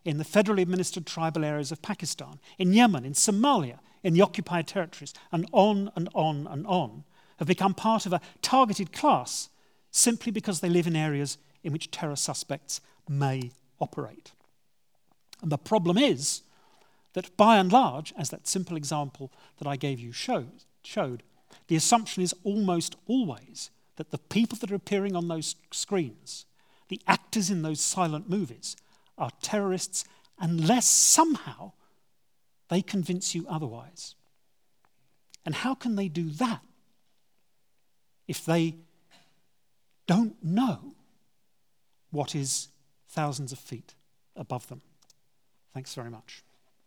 in the federally administered tribal areas of Pakistan, in Yemen, in Somalia, in the occupied territories, and on and on and on, have become part of a targeted class simply because they live in areas in which terror suspects may operate. And the problem is that by and large, as that simple example that I gave you showed, showed, the assumption is almost always that the people that are appearing on those screens, the actors in those silent movies, are terrorists unless somehow they convince you otherwise. And how can they do that if they don't know what is thousands of feet above them? Thanks very much.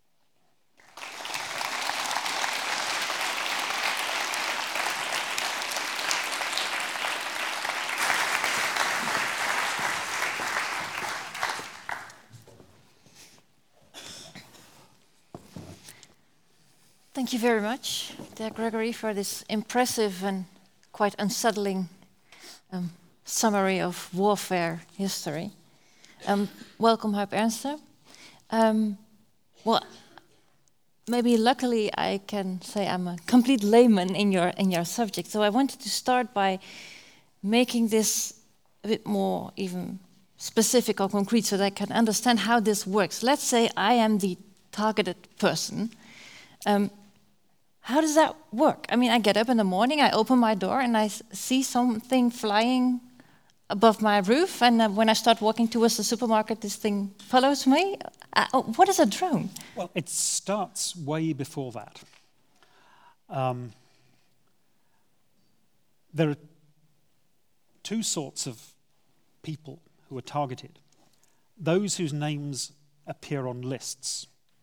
Thank you very much, Dale Gregory, for this impressive and quite unsettling um, summary of warfare history. Um, welcome, Huip Ernste. Um, well, maybe luckily I can say I'm a complete layman in your in your subject. So I wanted to start by making this a bit more even specific or concrete so that I can understand how this works. Let's say I am the targeted person. Um, How does that work? I mean, I get up in the morning, I open my door, and I s- see something flying above my roof. And uh, when I start walking towards the supermarket, this thing follows me. Uh, oh, what is a drone? Well, it starts way before that. Um, there are two sorts of people who are targeted. Those whose names appear on lists.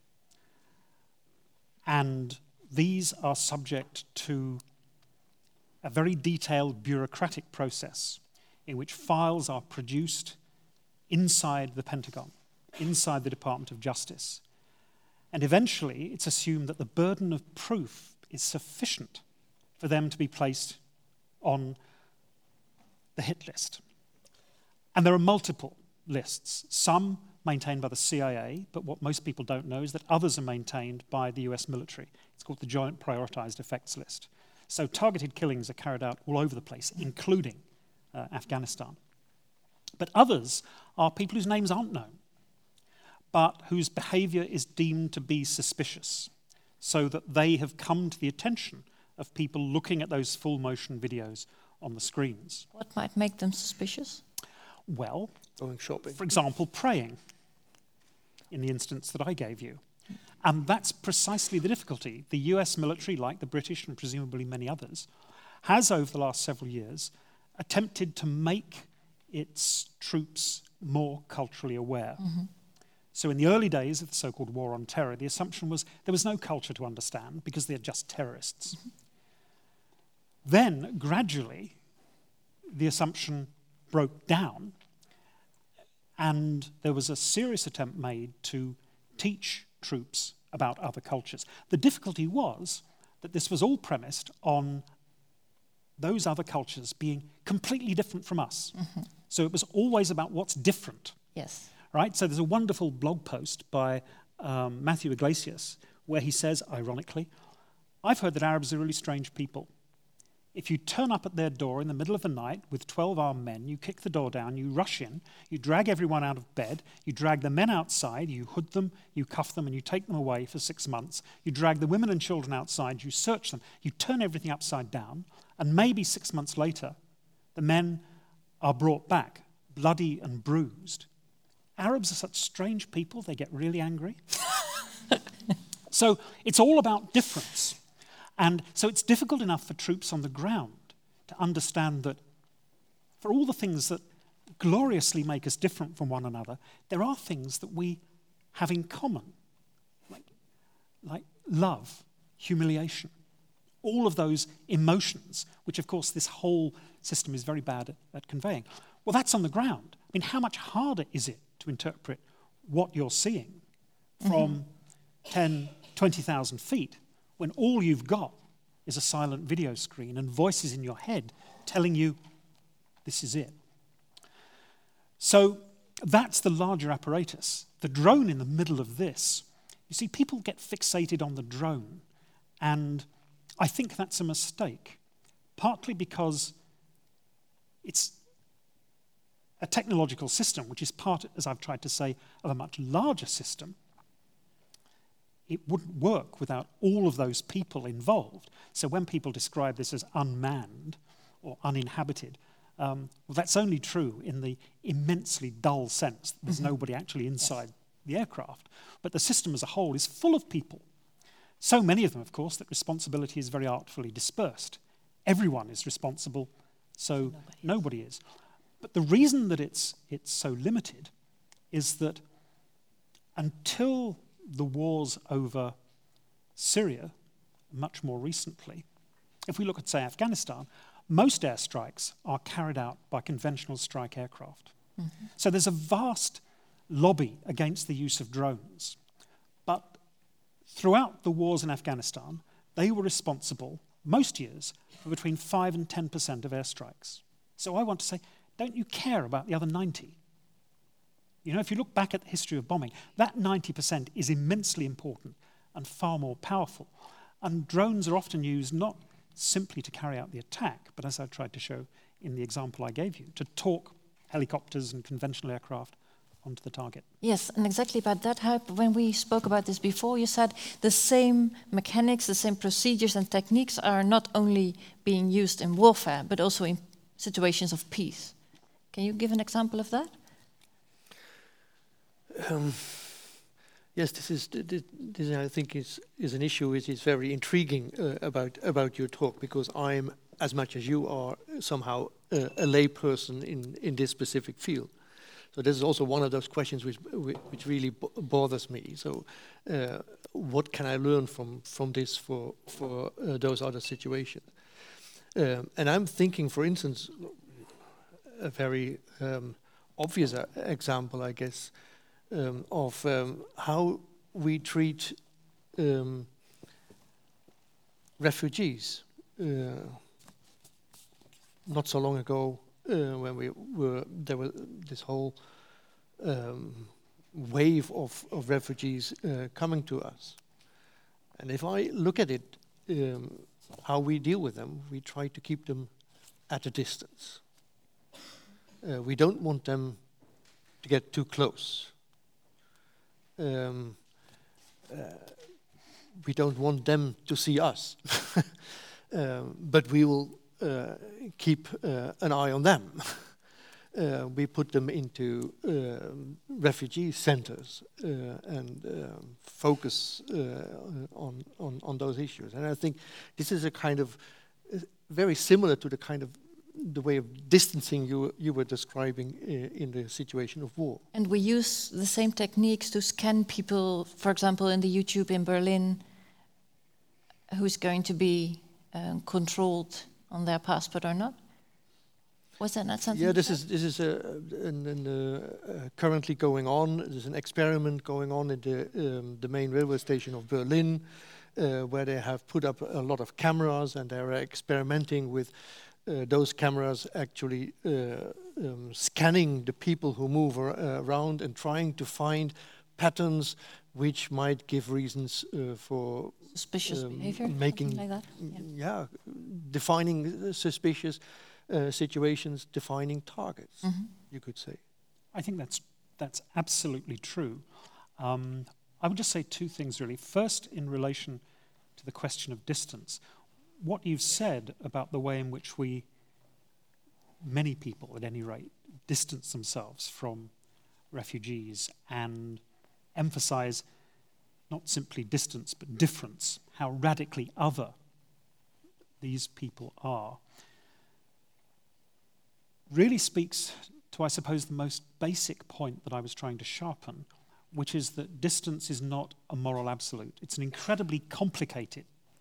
And these are subject to a very detailed bureaucratic process in which files are produced inside the Pentagon, inside the Department of Justice. And eventually, it's assumed that the burden of proof is sufficient for them to be placed on the hit list. And there are multiple lists, some maintained by the C I A, but what most people don't know is that others are maintained by the U S military. It's called the Joint Prioritized Effects List. So targeted killings are carried out all over the place, including uh, Afghanistan. But others are people whose names aren't known, but whose behavior is deemed to be suspicious, so that they have come to the attention of people looking at those full motion videos on the screens. What might make them suspicious? Well, Going shopping. for example, praying, in the instance that I gave you. And that's precisely the difficulty. The U S military, like the British and presumably many others, has over the last several years attempted to make its troops more culturally aware. Mm-hmm. So in the early days of the so-called war on terror, the assumption was there was no culture to understand because they're just terrorists. Mm-hmm. Then, gradually, the assumption broke down, and there was a serious attempt made to teach troops about other cultures. The difficulty was that this was all premised on those other cultures being completely different from us. Mm-hmm. So it was always about what's different. Yes. Right? So there's a wonderful blog post by um, Matthew Iglesias where he says, ironically, I've heard that Arabs are really strange people. If you turn up at their door in the middle of the night with twelve armed men, you kick the door down, you rush in, you drag everyone out of bed, you drag the men outside, you hood them, you cuff them, and you take them away for six months. You drag the women and children outside, you search them, you turn everything upside down, and maybe six months later, the men are brought back, bloody and bruised. Arabs are such strange people, they get really angry. So it's all about difference. And so it's difficult enough for troops on the ground to understand that for all the things that gloriously make us different from one another, there are things that we have in common, like, like love, humiliation, all of those emotions, which of course this whole system is very bad at, at conveying. Well, that's on the ground. I mean, how much harder is it to interpret what you're seeing from mm-hmm. ten, twenty thousand feet when all you've got is a silent video screen and voices in your head telling you this is it? So that's the larger apparatus. The drone in the middle of this, you see, people get fixated on the drone, and I think that's a mistake, partly because it's a technological system, which is part, as I've tried to say, of a much larger system. It wouldn't work without all of those people involved. So when people describe this as unmanned or uninhabited, um, well, that's only true in the immensely dull sense that there's mm-hmm. nobody actually inside yes. the aircraft. But the system as a whole is full of people. So many of them, of course, that responsibility is very artfully dispersed. Everyone is responsible, so nobody, nobody is. But the reason that it's, it's so limited is that until the wars over Syria, much more recently, if we look at, say, Afghanistan, most airstrikes are carried out by conventional strike aircraft. Mm-hmm. So there's a vast lobby against the use of drones. But throughout the wars in Afghanistan, they were responsible, most years, for between five and ten percent of airstrikes. So I want to say, don't you care about the other ninety? You know, if you look back at the history of bombing, that ninety percent is immensely important and far more powerful. And drones are often used not simply to carry out the attack, but as I tried to show in the example I gave you, to talk helicopters and conventional aircraft onto the target. Yes, and exactly about that, Huip, when we spoke about this before, you said the same mechanics, the same procedures and techniques are not only being used in warfare, but also in situations of peace. Can you give an example of that? Um, yes, this is this, this I think is is an issue which is very intriguing uh, about about your talk, because I'm, as much as you are, somehow uh, a lay person in in this specific field. So this is also one of those questions which which really b bothers me. So, uh, what can I learn from from this for for uh, those other situations? Um, and I'm thinking, for instance, a very um, obvious uh, example, I guess, um, of um, how we treat um, refugees. Uh, not so long ago, uh, when we were there was this whole um, wave of, of refugees uh, coming to us, and if I look at it, um, how we deal with them, we try to keep them at a distance. Uh, we don't want them to get too close. Um, uh, we don't want them to see us, um, but we will uh, keep uh, an eye on them. uh, we put them into uh, refugee centers uh, and um, focus uh, on, on, on those issues. And I think this is a kind of uh, very similar to the kind of the way of distancing you you were describing uh, in the situation of war. And we use the same techniques to scan people, for example, in the YouTube in Berlin, who's going to be um, controlled on their passport or not? Was that not something? Yeah, this is this is uh, an, an, uh, uh, currently going on. There's an experiment going on in the um, the main railway station of Berlin, uh, where they have put up a lot of cameras, and they're experimenting with uh, those cameras actually uh, um, scanning the people who move ar uh, around and trying to find patterns which might give reasons uh, for suspicious um, behavior, making like that. Yeah, yeah defining suspicious uh, situations, defining targets. Mm-hmm. You could say. I think that's that's absolutely true. Um, I would just say two things really. First, in relation to the question of distance, what you've said about the way in which we, many people at any rate, distance themselves from refugees and emphasize not simply distance but difference, how radically other these people are, really speaks to, I suppose, the most basic point that I was trying to sharpen, which is that distance is not a moral absolute. It's an incredibly complicated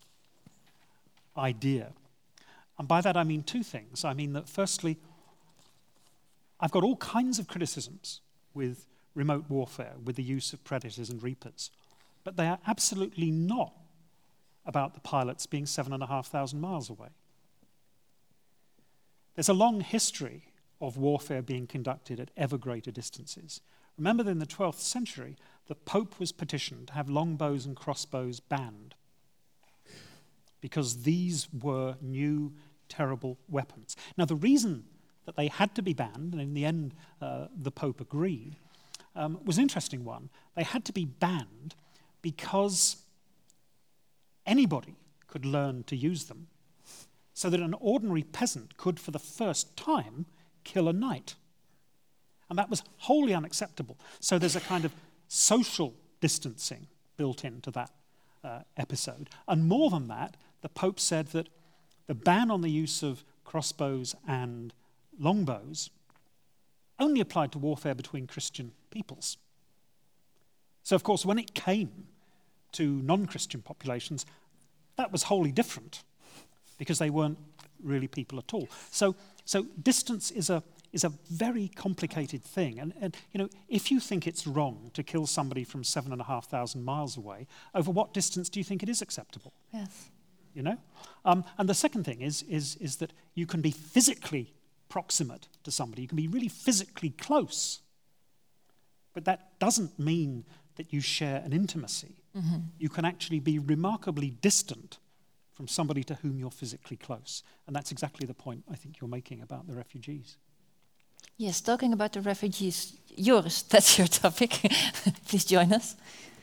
idea. And by that I mean two things. I mean that firstly, I've got all kinds of criticisms with remote warfare, with the use of predators and reapers, but they are absolutely not about the pilots being seven and a half thousand miles away. There's a long history of warfare being conducted at ever greater distances. Remember that in the twelfth century, the Pope was petitioned to have longbows and crossbows banned because these were new, terrible weapons. Now, the reason that they had to be banned, and in the end uh, the Pope agreed, um, was an interesting one. They had to be banned because anybody could learn to use them, so that an ordinary peasant could, for the first time, kill a knight. And that was wholly unacceptable. So there's a kind of social distancing built into that uh, episode. And more than that, the Pope said that the ban on the use of crossbows and longbows only applied to warfare between Christian peoples. So, of course, when it came to non-Christian populations, that was wholly different, because they weren't really people at all. So, so distance is a is a very complicated thing. And, and you know, if you think it's wrong to kill somebody from seven and a half thousand miles away, over what distance do you think it is acceptable? Yes. You know, um, and the second thing is is is that you can be physically proximate to somebody. You can be really physically close, but that doesn't mean that you share an intimacy. Mm-hmm. You can actually be remarkably distant from somebody to whom you're physically close. And that's exactly the point I think you're making about the refugees. Yes, talking about the refugees, Joris, that's your topic. Please join us.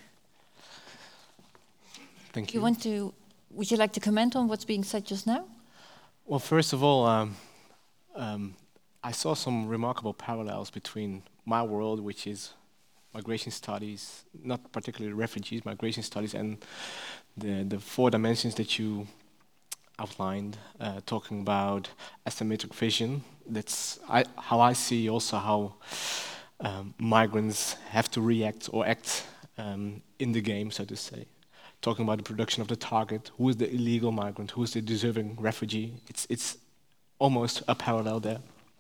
Thank you. You want to? Would you like to comment on what's being said just now? Well, first of all, um, um, I saw some remarkable parallels between my world, which is migration studies, not particularly refugees, migration studies, and the, the four dimensions that you outlined, uh, talking about asymmetric vision. That's I, how I see also how um, migrants have to react or act um, in the game, so to say. Talking about the production of the target, who is the illegal migrant, who is the deserving refugee. It's, it's almost a parallel there.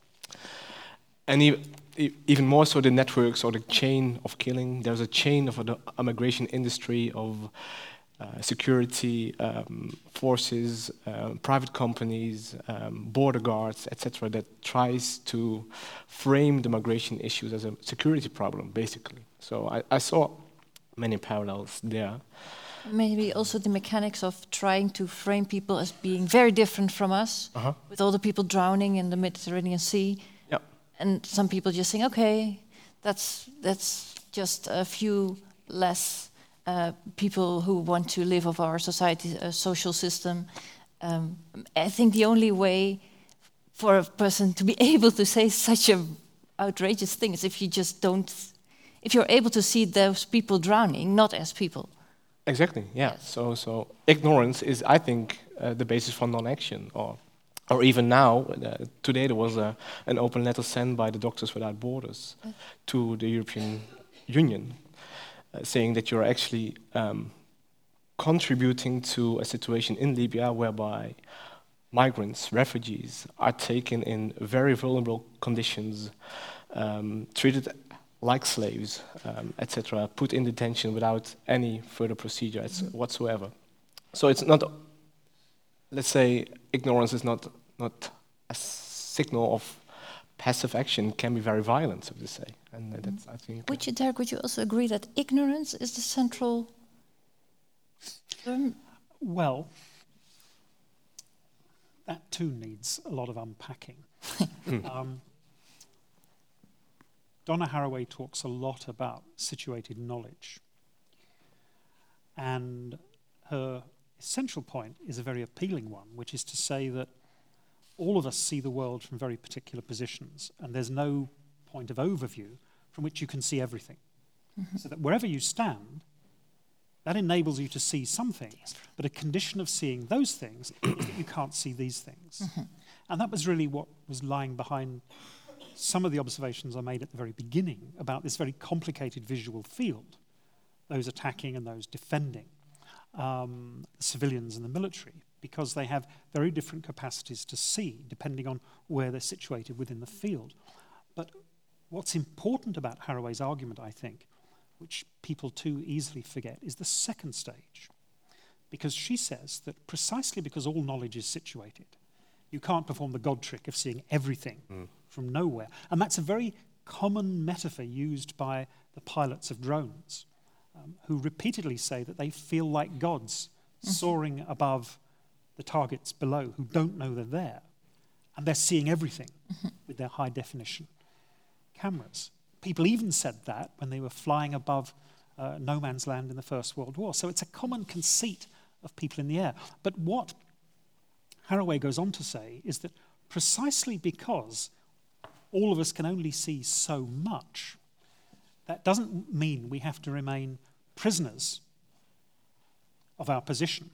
And e e even more so the networks or the chain of killing. There's a chain of a, a migration industry of uh, security um, forces, uh, private companies, um, border guards, et cetera, that tries to frame the migration issues as a security problem, basically. So I, I saw many parallels there. Maybe also the mechanics of trying to frame people as being very different from us, uh-huh. with all the people drowning in the Mediterranean Sea. Yep. And some people just think, okay, that's that's just a few less uh, people who want to live of our society, uh, social system. Um, I think the only way for a person to be able to say such a outrageous thing is if you just don't, if you're able to see those people drowning not as people. Exactly. Yeah. Yes. So, so ignorance is, I think, uh, the basis for non-action. Or, or even now, uh, today there was a, an open letter sent by the Doctors Without Borders yes. to the European Union, uh, saying that you're actually um, contributing to a situation in Libya whereby migrants, refugees, are taken in very vulnerable conditions, um, treated like slaves, um, et cetera, put in detention without any further procedure mm-hmm. whatsoever. So it's not, let's say, ignorance is not not a signal of passive action. It can be very violent, so to say. And mm-hmm. that's, I think. Would you, Derek, would you also agree that ignorance is the central term? Well, that too needs a lot of unpacking. um, Donna Haraway talks a lot about situated knowledge. And her essential point is a very appealing one, which is to say that all of us see the world from very particular positions, and there's no point of overview from which you can see everything. Mm-hmm. So that wherever you stand, that enables you to see some things, but a condition of seeing those things is that you can't see these things. Mm-hmm. And that was really what was lying behind some of the observations I made at the very beginning about this very complicated visual field, those attacking and those defending, um, the civilians and the military, because they have very different capacities to see, depending on where they're situated within the field. But what's important about Haraway's argument, I think, which people too easily forget, is the second stage. Because she says that precisely because all knowledge is situated, You can't perform the God trick of seeing everything Mm. from nowhere. And that's a very common metaphor used by the pilots of drones, um, who repeatedly say that they feel like gods soaring above the targets below who don't know they're there. And they're seeing everything with their high definition cameras. People even said that when they were flying above uh, no man's land in the First World War. So it's a common conceit of people in the air. But what Haraway goes on to say is that precisely because all of us can only see so much, that doesn't mean we have to remain prisoners of our position.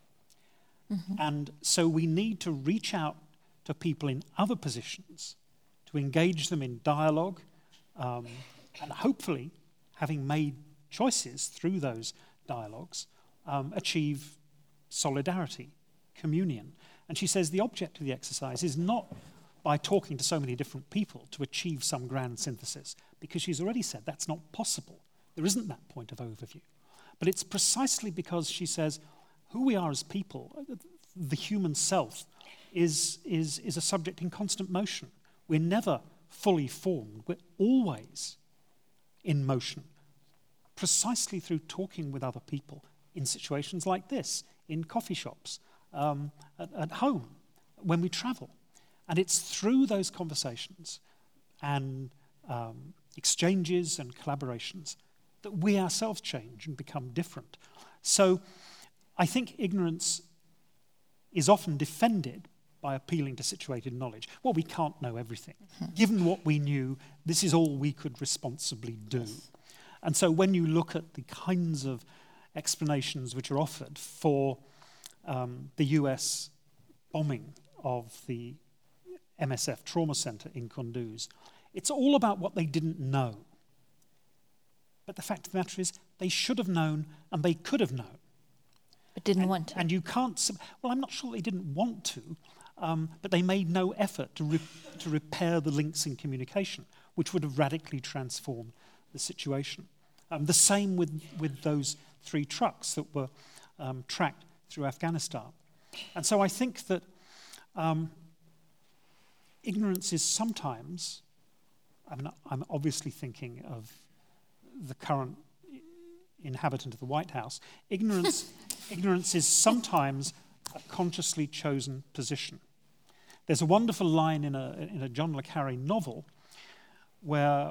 Mm-hmm. And so we need to reach out to people in other positions, to engage them in dialogue, um, and hopefully, having made choices through those dialogues, um, achieve solidarity, communion. And she says the object of the exercise is not by talking to so many different people to achieve some grand synthesis, because she's already said that's not possible. There isn't that point of overview. But it's precisely because she says who we are as people, the human self, is, is, is a subject in constant motion. We're never fully formed. We're always in motion, precisely through talking with other people in situations like this, in coffee shops, um, at, at home, when we travel. And it's through those conversations and um, exchanges and collaborations that we ourselves change and become different. So I think ignorance is often defended by appealing to situated knowledge. Well, we can't know everything. Mm-hmm. Given what we knew, this is all we could responsibly do. Yes. And so when you look at the kinds of explanations which are offered for um, the U S bombing of the M S F trauma center in Kunduz, it's all about what they didn't know. But the fact of the matter is, they should have known and they could have known. But didn't and, want to. And you can't, well, I'm not sure they didn't want to, um, but they made no effort to, re- to repair the links in communication, which would have radically transformed the situation. Um, the same with, with those three trucks that were um, tracked through Afghanistan. And so I think that um, ignorance is sometimes, I mean, I'm obviously thinking of the current inhabitant of the White House, ignorance, ignorance is sometimes a consciously chosen position. There's a wonderful line in a, in a John le Carré novel where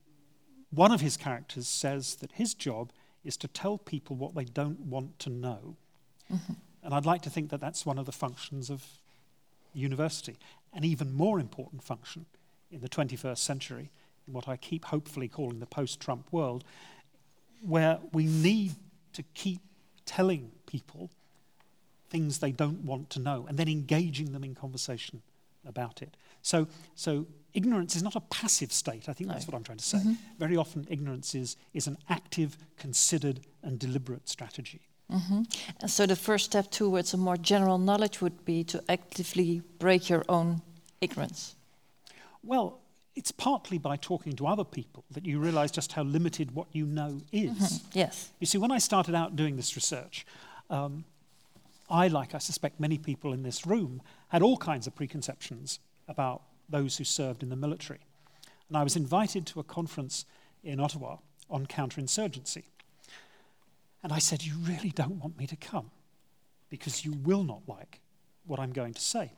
one of his characters says that his job is to tell people what they don't want to know. Mm-hmm. And I'd like to think that that's one of the functions of university. An even more important function in the twenty-first century, in what I keep hopefully calling the post-Trump world, where we need to keep telling people things they don't want to know and then engaging them in conversation about it. So, so ignorance is not a passive state. I think no. that's what I'm trying to say. Mm-hmm. Very often ignorance is, is an active, considered and deliberate strategy. Mm-hmm. And so the first step towards a more general knowledge would be to actively break your own ignorance. Well, it's partly by talking to other people that you realize just how limited what you know is. Mm-hmm. Yes. You see, when I started out doing this research, um, I, like I suspect many people in this room, had all kinds of preconceptions about those who served in the military. And I was invited to a conference in Ottawa on counterinsurgency. And I said, you really don't want me to come because you will not like what I'm going to say.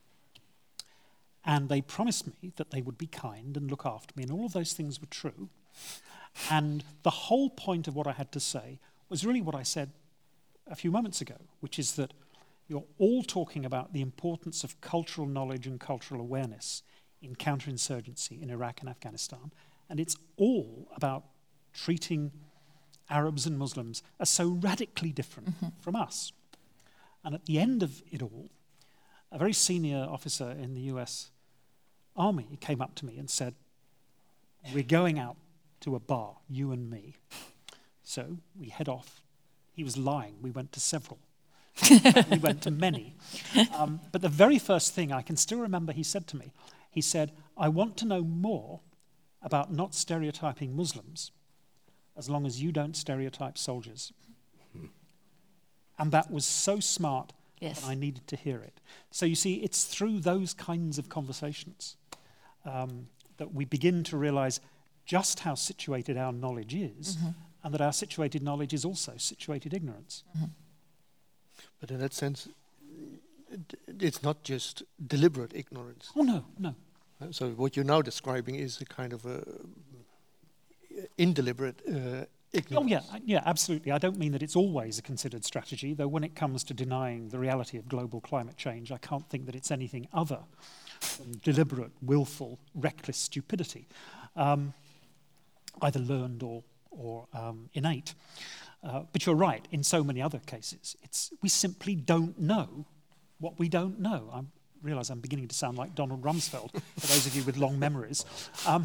And they promised me that they would be kind and look after me, and all of those things were true. And the whole point of what I had to say was really what I said a few moments ago, which is that you're all talking about the importance of cultural knowledge and cultural awareness in counterinsurgency in Iraq and Afghanistan, and it's all about treating Arabs and Muslims as so radically different mm-hmm. from us. And at the end of it all, a very senior officer in the U S Army came up to me and said, we're going out to a bar, you and me. So we head off. He was lying. We went to several. We went to many. Um, but the very first thing I can still remember he said to me, he said, I want to know more about not stereotyping Muslims as long as you don't stereotype soldiers. Hmm. And that was so smart Yes. and I needed to hear it. So you see, it's through those kinds of conversations um, that we begin to realize just how situated our knowledge is, mm-hmm. and that our situated knowledge is also situated ignorance. Mm-hmm. But in that sense, it's not just deliberate ignorance. Oh, no, no. So what you're now describing is a kind of a indeliberate uh, ignorance. Oh, yeah, yeah, absolutely. I don't mean that it's always a considered strategy, though when it comes to denying the reality of global climate change, I can't think that it's anything other than deliberate, willful, reckless stupidity, um, either learned or, or um, innate. Uh, but you're right, in so many other cases, it's we simply don't know what we don't know. I realise I'm beginning to sound like Donald Rumsfeld, for those of you with long memories. Um,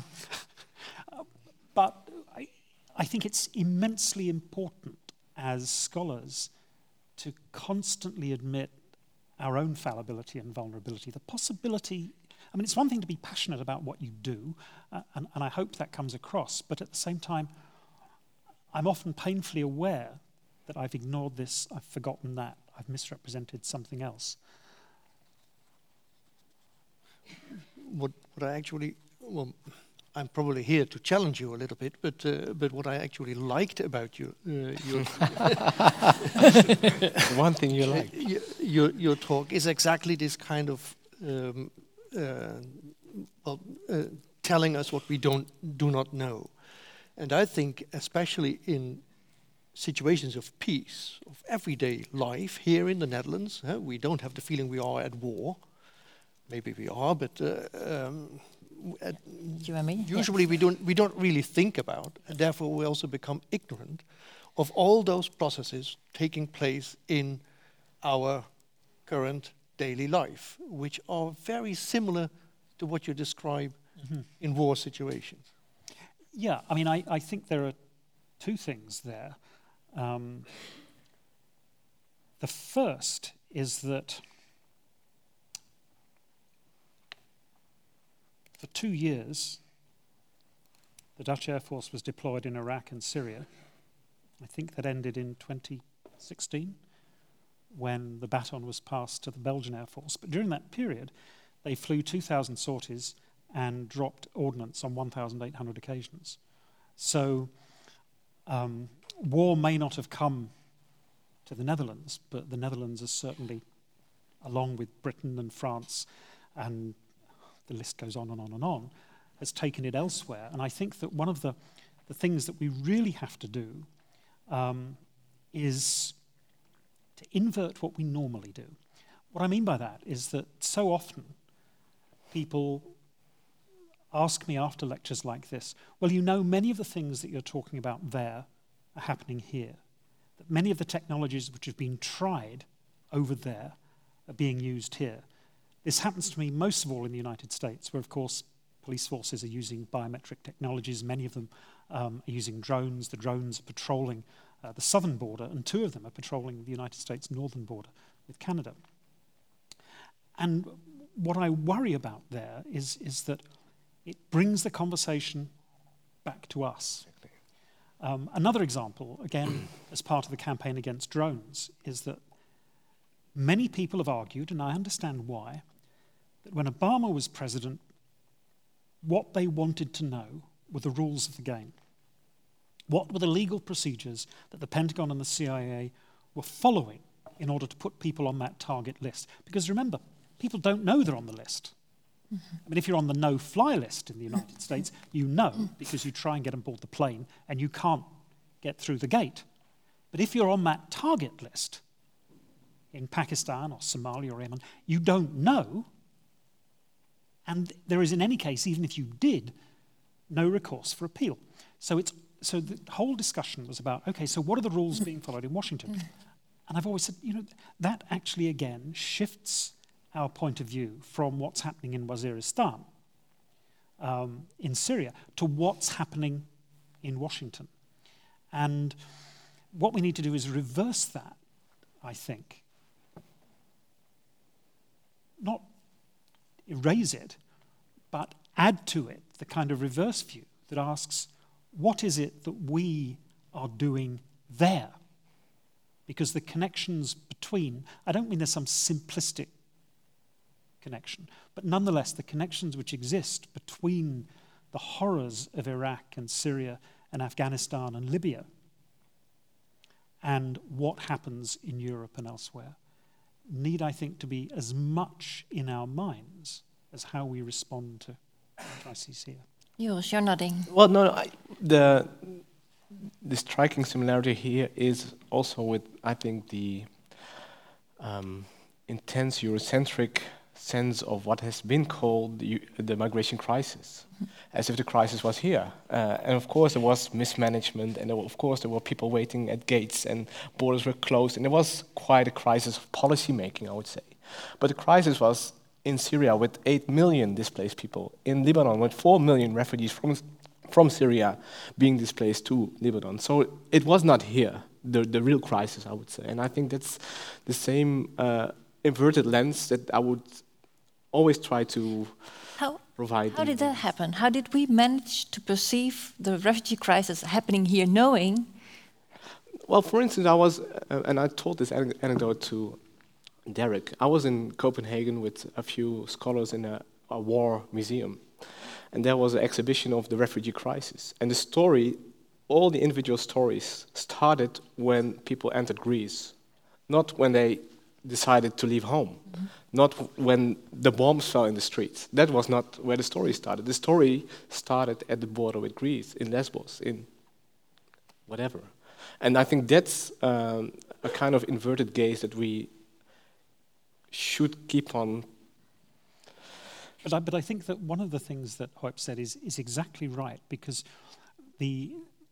but I, I think it's immensely important as scholars to constantly admit our own fallibility and vulnerability. The possibility, I mean, it's one thing to be passionate about what you do, uh, and, and I hope that comes across, but at the same time, I'm often painfully aware that I've ignored this, I've forgotten that, I've misrepresented something else. What, what I actually, well, I'm probably here to challenge you a little bit, but uh, but what I actually liked about you, uh, your one thing you like, your, your your talk is exactly this kind of um, uh, well, uh, telling us what we don't do not know. And I think, especially in situations of peace, of everyday life here in the Netherlands, uh, we don't have the feeling we are at war. Maybe we are, but uh, um, at you and me? usually Yeah. we don't we don't really think about, and therefore we also become ignorant of all those processes taking place in our current daily life, which are very similar to what you describe mm-hmm. in war situations. Yeah, I mean, I, I think there are two things there. Um, the first is that for two years, the Dutch Air Force was deployed in Iraq and Syria. I think that ended in twenty sixteen, when the baton was passed to the Belgian Air Force. But during that period, they flew two thousand sorties and dropped ordnance on one thousand eight hundred occasions. So um, war may not have come to the Netherlands, but the Netherlands is certainly, along with Britain and France, and the list goes on and on and on, has taken it elsewhere. And I think that one of the, the things that we really have to do um, is to invert what we normally do. What I mean by that is that so often people ask me after lectures like this, well, you know, many of the things that you're talking about there are happening here. That many of the technologies which have been tried over there are being used here. This happens to me most of all in the United States, where, of course, police forces are using biometric technologies. Many of them um, are using drones. The drones are patrolling uh, the southern border, and two of them are patrolling the United States northern border with Canada. And what I worry about there is, is that it brings the conversation back to us. Um, another example, again, as part of the campaign against drones, is that many people have argued, and I understand why, that when Obama was president, what they wanted to know were the rules of the game. What were the legal procedures that the Pentagon and the C I A were following in order to put people on that target list? Because remember, people don't know they're on the list. Mm-hmm. I mean, if you're on the no-fly list in the United States, you know, because you try and get on board the plane and you can't get through the gate. But if you're on that target list in Pakistan or Somalia or Yemen, you don't know. And there is, in any case, even if you did, no recourse for appeal. So it's so the whole discussion was about, okay, so what are the rules being followed in Washington? And I've always said, you know, that actually, again, shifts our point of view from what's happening in Waziristan, um, in Syria, to what's happening in Washington. And what we need to do is reverse that, I think. Not erase it, but add to it the kind of reverse view that asks, what is it that we are doing there? because the connections between, I don't mean there's some simplistic connection, but nonetheless the connections which exist between the horrors of Iraq and Syria and Afghanistan and Libya and what happens in Europe and elsewhere need, I think, to be as much in our minds as how we respond to crises here. Joris, you're nodding. Well, no, no I, the the striking similarity here is also with, I think, the um, intense Eurocentric sense of what has been called the, the migration crisis, mm-hmm. as if the crisis was here. Uh, and of course there was mismanagement, and there were, of course there were people waiting at gates, and borders were closed, and there was quite a crisis of policy making, I would say. But the crisis was in Syria with eight million displaced people, in Lebanon with four million refugees from from Syria being displaced to Lebanon. So it was not here, the, the real crisis, I would say. And I think that's the same uh, inverted lens that I would always try to how, provide. How did that happen? How did we manage to perceive the refugee crisis happening here, knowing? Well, for instance, I was, uh, and I told this anecdote to Derek, I was in Copenhagen with a few scholars in a, a war museum. And there was an exhibition of the refugee crisis. And the story, all the individual stories, started when people entered Greece, not when they decided to leave home, mm-hmm. not when the bombs fell in the streets. That was not where the story started. The story started at the border with Greece, in Lesbos, in whatever. And I think that's um, a kind of inverted gaze that we should keep on. But I, but I think that one of the things that Huip said is, is exactly right, because the,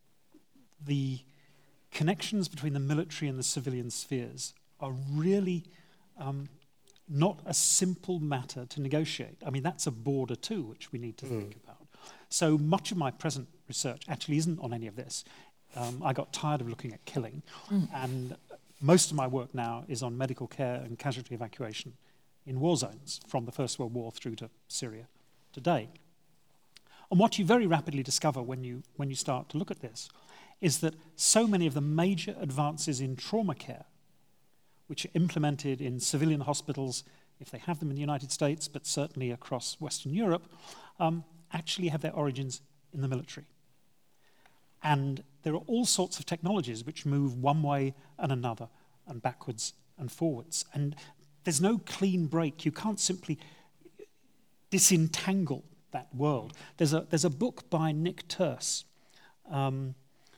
the connections between the military and the civilian spheres are really um, not a simple matter to negotiate. I mean, that's a border too, which we need to mm. think about. So much of my present research actually isn't on any of this. Um, I got tired of looking at killing, mm. and most of my work now is on medical care and casualty evacuation in war zones from the First World War through to Syria today. And what you very rapidly discover when you, when you start to look at this is that so many of the major advances in trauma care, which are implemented in civilian hospitals, if they have them in the United States, but certainly across Western Europe, um, actually have their origins in the military. And there are all sorts of technologies which move one way and another, and backwards and forwards. And there's no clean break. You can't simply disentangle that world. There's a, there's a book by Nick Turse um,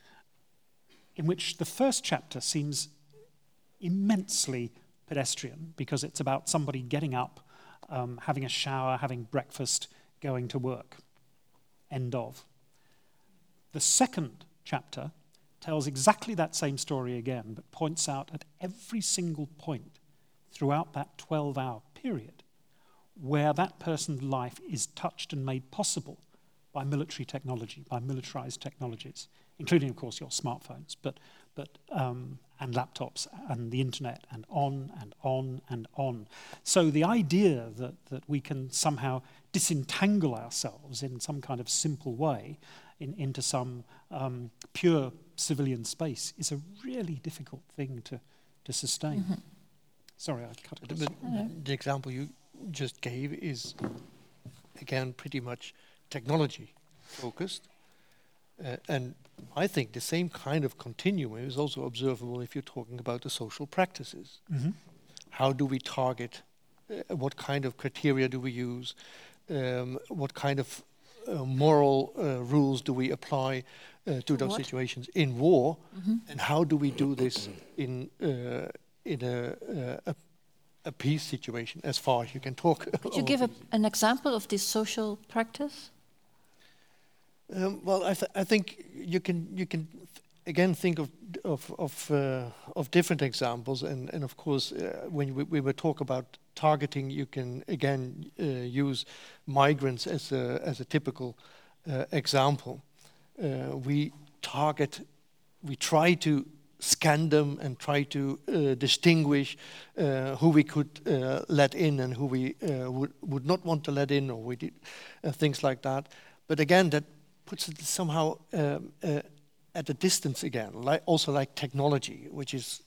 in which the first chapter seems immensely pedestrian because it's about somebody getting up, um, having a shower, having breakfast, going to work. End of. The second chapter tells exactly that same story again, but points out at every single point throughout that twelve-hour period where that person's life is touched and made possible by military technology, by militarized technologies, including, of course, your smartphones, but, but um, and laptops and the internet, and on and on and on. So the idea that, that we can somehow disentangle ourselves in some kind of simple way in, into some um, pure civilian space is a really difficult thing to, to sustain. Mm-hmm. Sorry, I cut it. But the example you just gave is, again, pretty much technology focused. Uh, and I think the same kind of continuum is also observable if you're talking about the social practices. Mm-hmm. How do we target? Uh, what kind of criteria do we use? Um, what kind of uh, moral uh, rules do we apply uh, to those what? situations in war? Mm-hmm. And how do we do this in uh, in a, uh, a a peace situation, as far as you can talk? Could you give a, an example of this social practice? Um, well, I, th I think you can you can th again think of of of, uh, of different examples, and and of course uh, when we, we were talk about targeting, you can again uh, use migrants as a as a typical uh, example. Uh, we target, we try to scan them and try to uh, distinguish uh, who we could uh, let in and who we uh, would would not want to let in, or we did uh, things like that. But again, that puts it somehow um, uh, at a distance again, like also like technology, which is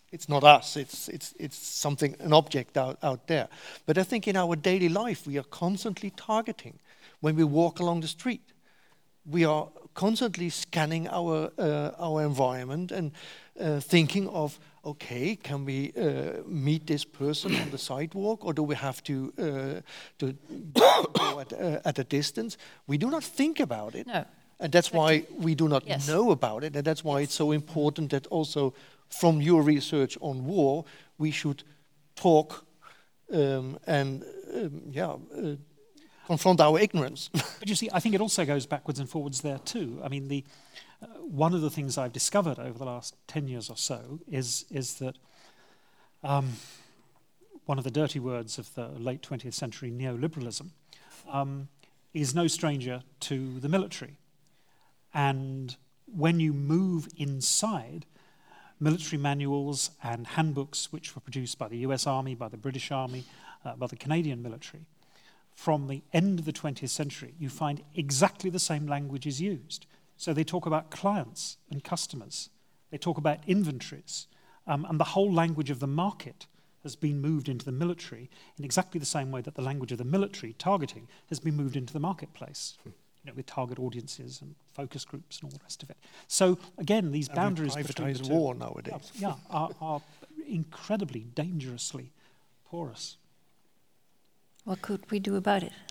it's not us, it's, it's, it's something, an object out, out there. But I think in our daily life, we are constantly targeting. When we walk along the street, we are constantly scanning our, uh, our environment and uh, thinking of, okay, can we uh, meet this person on the sidewalk, or do we have to, uh, to go at, uh, at a distance? We do not think about it. No. And that's Exactly. why we do not Yes. know about it, and that's why it's so important that also from your research on war, we should talk um, and um, yeah, uh, confront our ignorance. But you see, I think it also goes backwards and forwards there too. I mean, the uh, one of the things I've discovered over the last ten years or so is is that um, one of the dirty words of the late twentieth century, neoliberalism, um, is no stranger to the military. And when you move inside military manuals and handbooks which were produced by the U S Army, by the British Army, uh, by the Canadian military, from the end of the twentieth century, you find exactly the same language is used. So they talk about clients and customers. They talk about inventories. Um, and the whole language of the market has been moved into the military in exactly the same way that the language of the military targeting has been moved into the marketplace. Hmm. You know, with target audiences and focus groups and all the rest of it. So again, these And boundaries between the privatized two, war nowadays. uh, yeah, are, are incredibly dangerously porous. What could we do about it?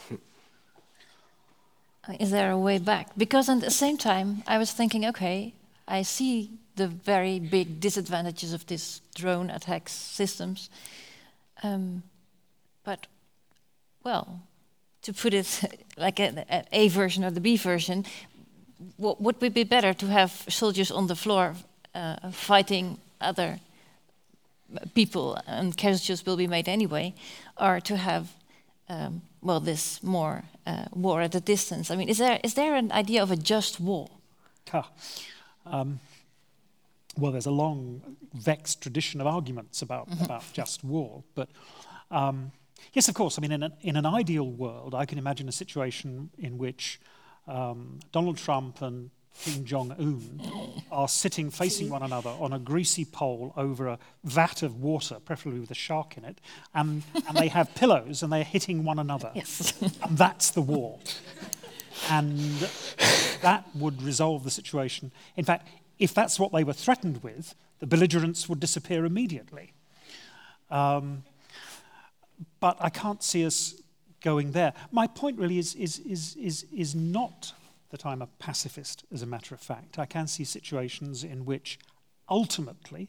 Uh, Is there a way back? Because at the same time, I was thinking, okay, I see the very big disadvantages of this drone attack systems. Um, but, well, to put it like a, a A version or the B version, w- would it be better to have soldiers on the floor uh, fighting other people, and casualties will be made anyway, or to have, um, well, this more uh, war at a distance? I mean, is there is there an idea of a just war? Ha. Um, well, there's a long, vexed tradition of arguments about, mm-hmm. about just war. But um, yes, of course, I mean, in an, in an ideal world, I can imagine a situation in which um, Donald Trump and Kim Jong-un are sitting facing one another on a greasy pole over a vat of water, preferably with a shark in it, and, and they have pillows and they're hitting one another. Yes. And that's the war. And that would resolve the situation. In fact, if that's what they were threatened with, the belligerents would disappear immediately. Um, but I can't see us going there. My point really is, is, is, is, is not that I'm a pacifist, as a matter of fact. I can see situations in which ultimately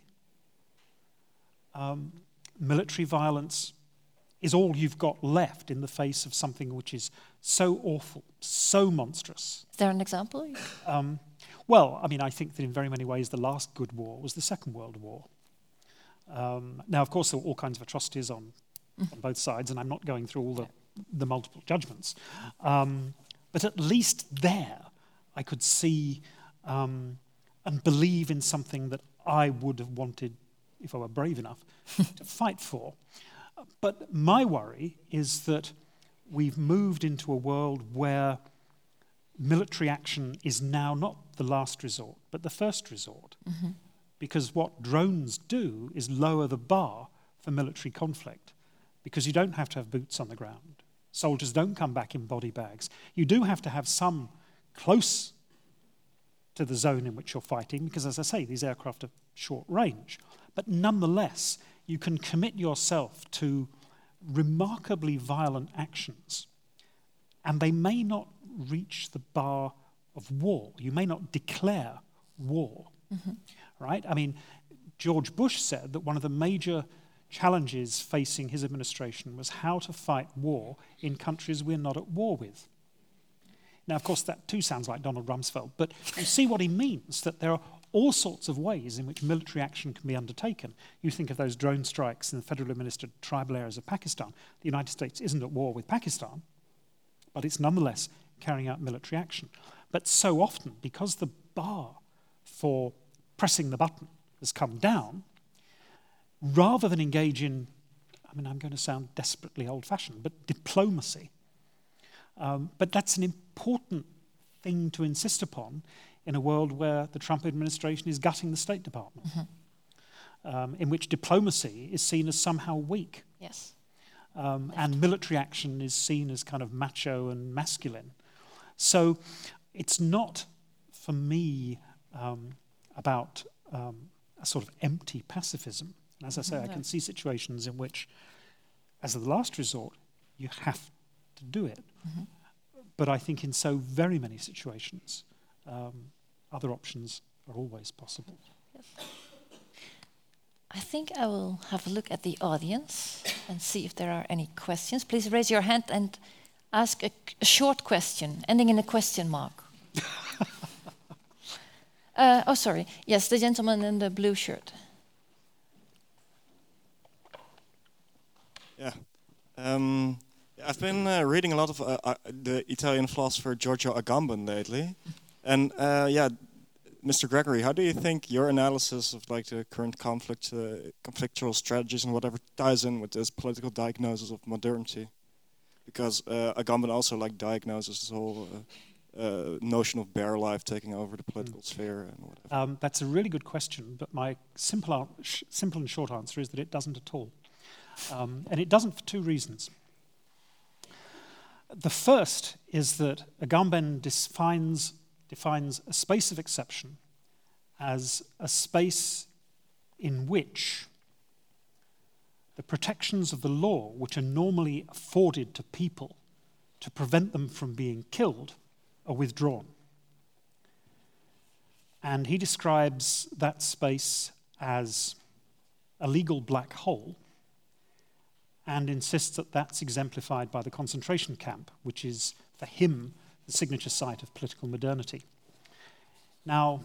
um, military violence is all you've got left in the face of something which is so awful, so monstrous. Is there an example? Um, well, I mean, I think that in very many ways the last good war was the Second World War. Um, now, of course, there were all kinds of atrocities on, mm. on both sides, and I'm not going through all the, the multiple judgments. Um, but at least there, I could see um, and believe in something that I would have wanted, if I were brave enough, to fight for. But my worry is that we've moved into a world where military action is now not the last resort, but the first resort. Mm-hmm. Because what drones do is lower the bar for military conflict, because you don't have to have boots on the ground. Soldiers don't come back in body bags. You do have to have some close to the zone in which you're fighting, because, as I say, these aircraft are short range. But nonetheless, you can commit yourself to remarkably violent actions, and they may not reach the bar of war. You may not declare war, mm-hmm. right? I mean, George Bush said that one of the major challenges facing his administration was how to fight war in countries we're not at war with. Now, of course, that too sounds like Donald Rumsfeld, but you see what he means, that there are all sorts of ways in which military action can be undertaken. You think of those drone strikes in the federally administered tribal areas of Pakistan. The United States isn't at war with Pakistan, but it's nonetheless carrying out military action. But so often, because the bar for pressing the button has come down, rather than engage in, I mean, I'm going to sound desperately old-fashioned, but diplomacy. Um, but that's an important thing to insist upon in a world where the Trump administration is gutting the State Department. Mm-hmm. um, in which diplomacy is seen as somehow weak. Yes. Um, and military action is seen as kind of macho and masculine. So it's not, for me, um, about um, a sort of empty pacifism. And as I say, No. I can see situations in which, as a last resort, you have to do it. Mm-hmm. But I think in so very many situations, um, other options are always possible. Yes. I think I will have a look at the audience and see if there are any questions. Please raise your hand and ask a, a short question, ending in a question mark. uh, oh, sorry. Yes, the gentleman in the blue shirt. Yeah. Um, I've been uh, reading a lot of uh, uh, the Italian philosopher Giorgio Agamben lately. And uh, yeah, Mister Gregory, how do you think your analysis of like the current conflict, uh, conflictual strategies and whatever ties in with this political diagnosis of modernity? Because uh, Agamben also like diagnoses this whole uh, uh, notion of bare life taking over the political mm. sphere and whatever. Um, that's a really good question, but my simple, ar- sh- simple and short answer is that it doesn't at all. Um, and it doesn't for two reasons. The first is that Agamben defines, defines a space of exception as a space in which the protections of the law, which are normally afforded to people to prevent them from being killed, are withdrawn. And he describes that space as a legal black hole and insists that that's exemplified by the concentration camp, which is, for him, the signature site of political modernity. Now,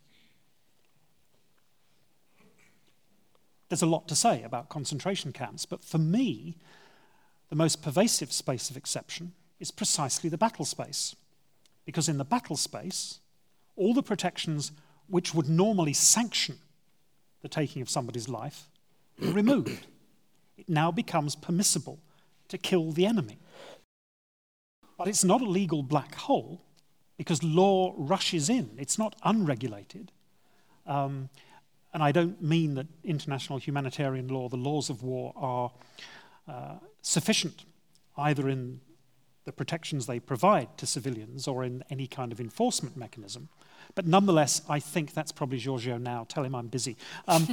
there's a lot to say about concentration camps, but for me, the most pervasive space of exception is precisely the battle space. Because in the battle space, all the protections which would normally sanction the taking of somebody's life are removed. It now becomes permissible to kill the enemy. But it's not a legal black hole because law rushes in. It's not unregulated. Um, and I don't mean that international humanitarian law, the laws of war, are uh, sufficient either in the protections they provide to civilians or in any kind of enforcement mechanism. But nonetheless, I think that's probably Giorgio now. Tell him I'm busy. Um,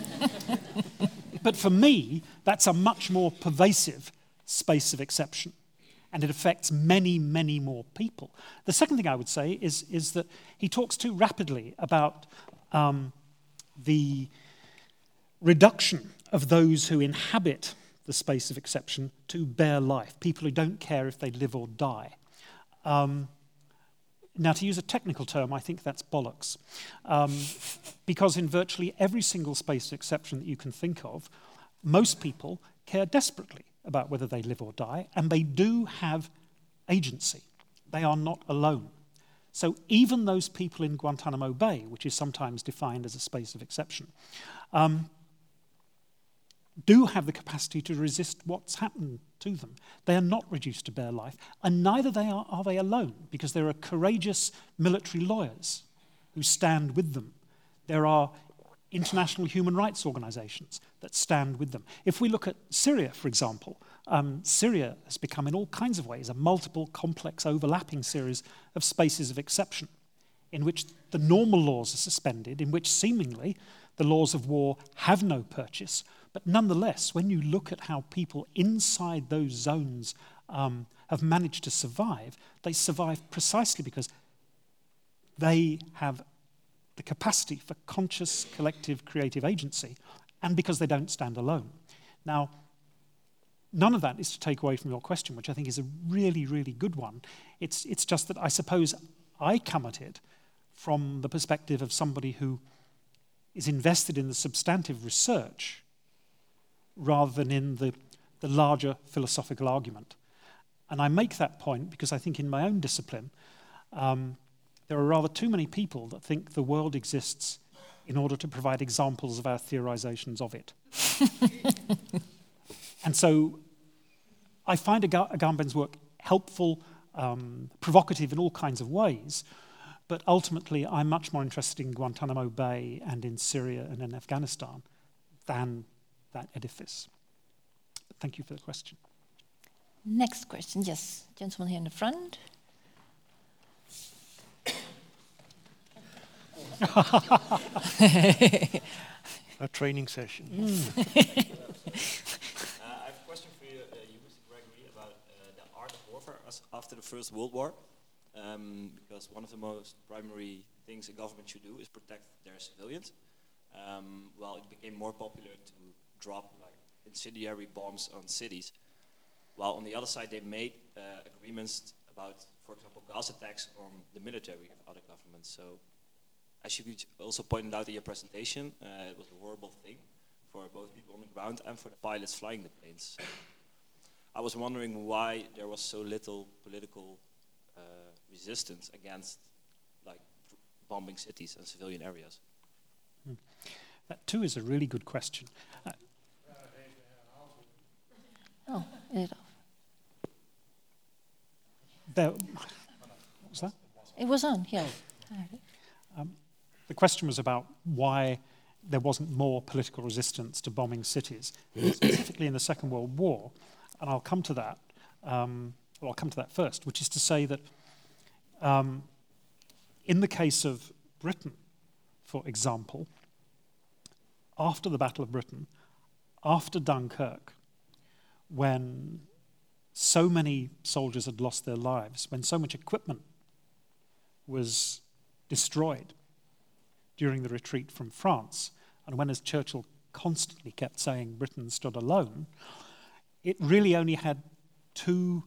but for me, that's a much more pervasive space of exception. And it affects many, many more people. The second thing I would say is, is that he talks too rapidly about um, the reduction of those who inhabit the space of exception to bare life, people who don't care if they live or die. Um, now, to use a technical term, I think that's bollocks. Um, because in virtually every single space of exception that you can think of, most people care desperately about whether they live or die, and they do have agency. They are not alone. So even those people in Guantanamo Bay, which is sometimes defined as a space of exception, um, do have the capacity to resist what's happened to them. They are not reduced to bare life, and neither they are, are they alone, because there are courageous military lawyers who stand with them. There are international human rights organizations that stand with them. If we look at Syria, for example, um, Syria has become in all kinds of ways a multiple, complex, overlapping series of spaces of exception in which the normal laws are suspended, in which seemingly the laws of war have no purchase. But nonetheless, when you look at how people inside those zones um, have managed to survive, they survive precisely because they have the capacity for conscious, collective, creative agency, and because they don't stand alone. Now, none of that is to take away from your question, which I think is a really, really good one. It's, it's just that I suppose I come at it from the perspective of somebody who is invested in the substantive research rather than in the, the larger philosophical argument. And I make that point because I think in my own discipline, um, there are rather too many people that think the world exists in order to provide examples of our theorizations of it. And so I find Ag- Agamben's work helpful, um, provocative in all kinds of ways, but ultimately I'm much more interested in Guantanamo Bay and in Syria and in Afghanistan than that edifice. Thank you for the question. Next question, yes, gentleman here in the front. A training session. Mm. uh, I have a question for you, uh, you Mister Gregory, about uh, the art of warfare as after the First World War. Um, because one of the most primary things a government should do is protect their civilians. Um, well, it became more popular to drop like incendiary bombs on cities. While on the other side, they made uh, agreements about, for example, gas attacks on the military of other governments. So, as you also pointed out in your presentation, uh, it was a horrible thing for both people on the ground and for the pilots flying the planes. So I was wondering why there was so little political uh, resistance against, like, bombing cities and civilian areas. Hmm. That too is a really good question. Uh, oh, it There, what was that? It was on, yeah. Um, the question was about why there wasn't more political resistance to bombing cities, specifically in the Second World War. And I'll come to that. Um, well, I'll come to that first, which is to say that um, in the case of Britain, for example, after the Battle of Britain, after Dunkirk, when so many soldiers had lost their lives, when so much equipment was destroyed during the retreat from France, and when, as Churchill constantly kept saying, Britain stood alone, it really only had two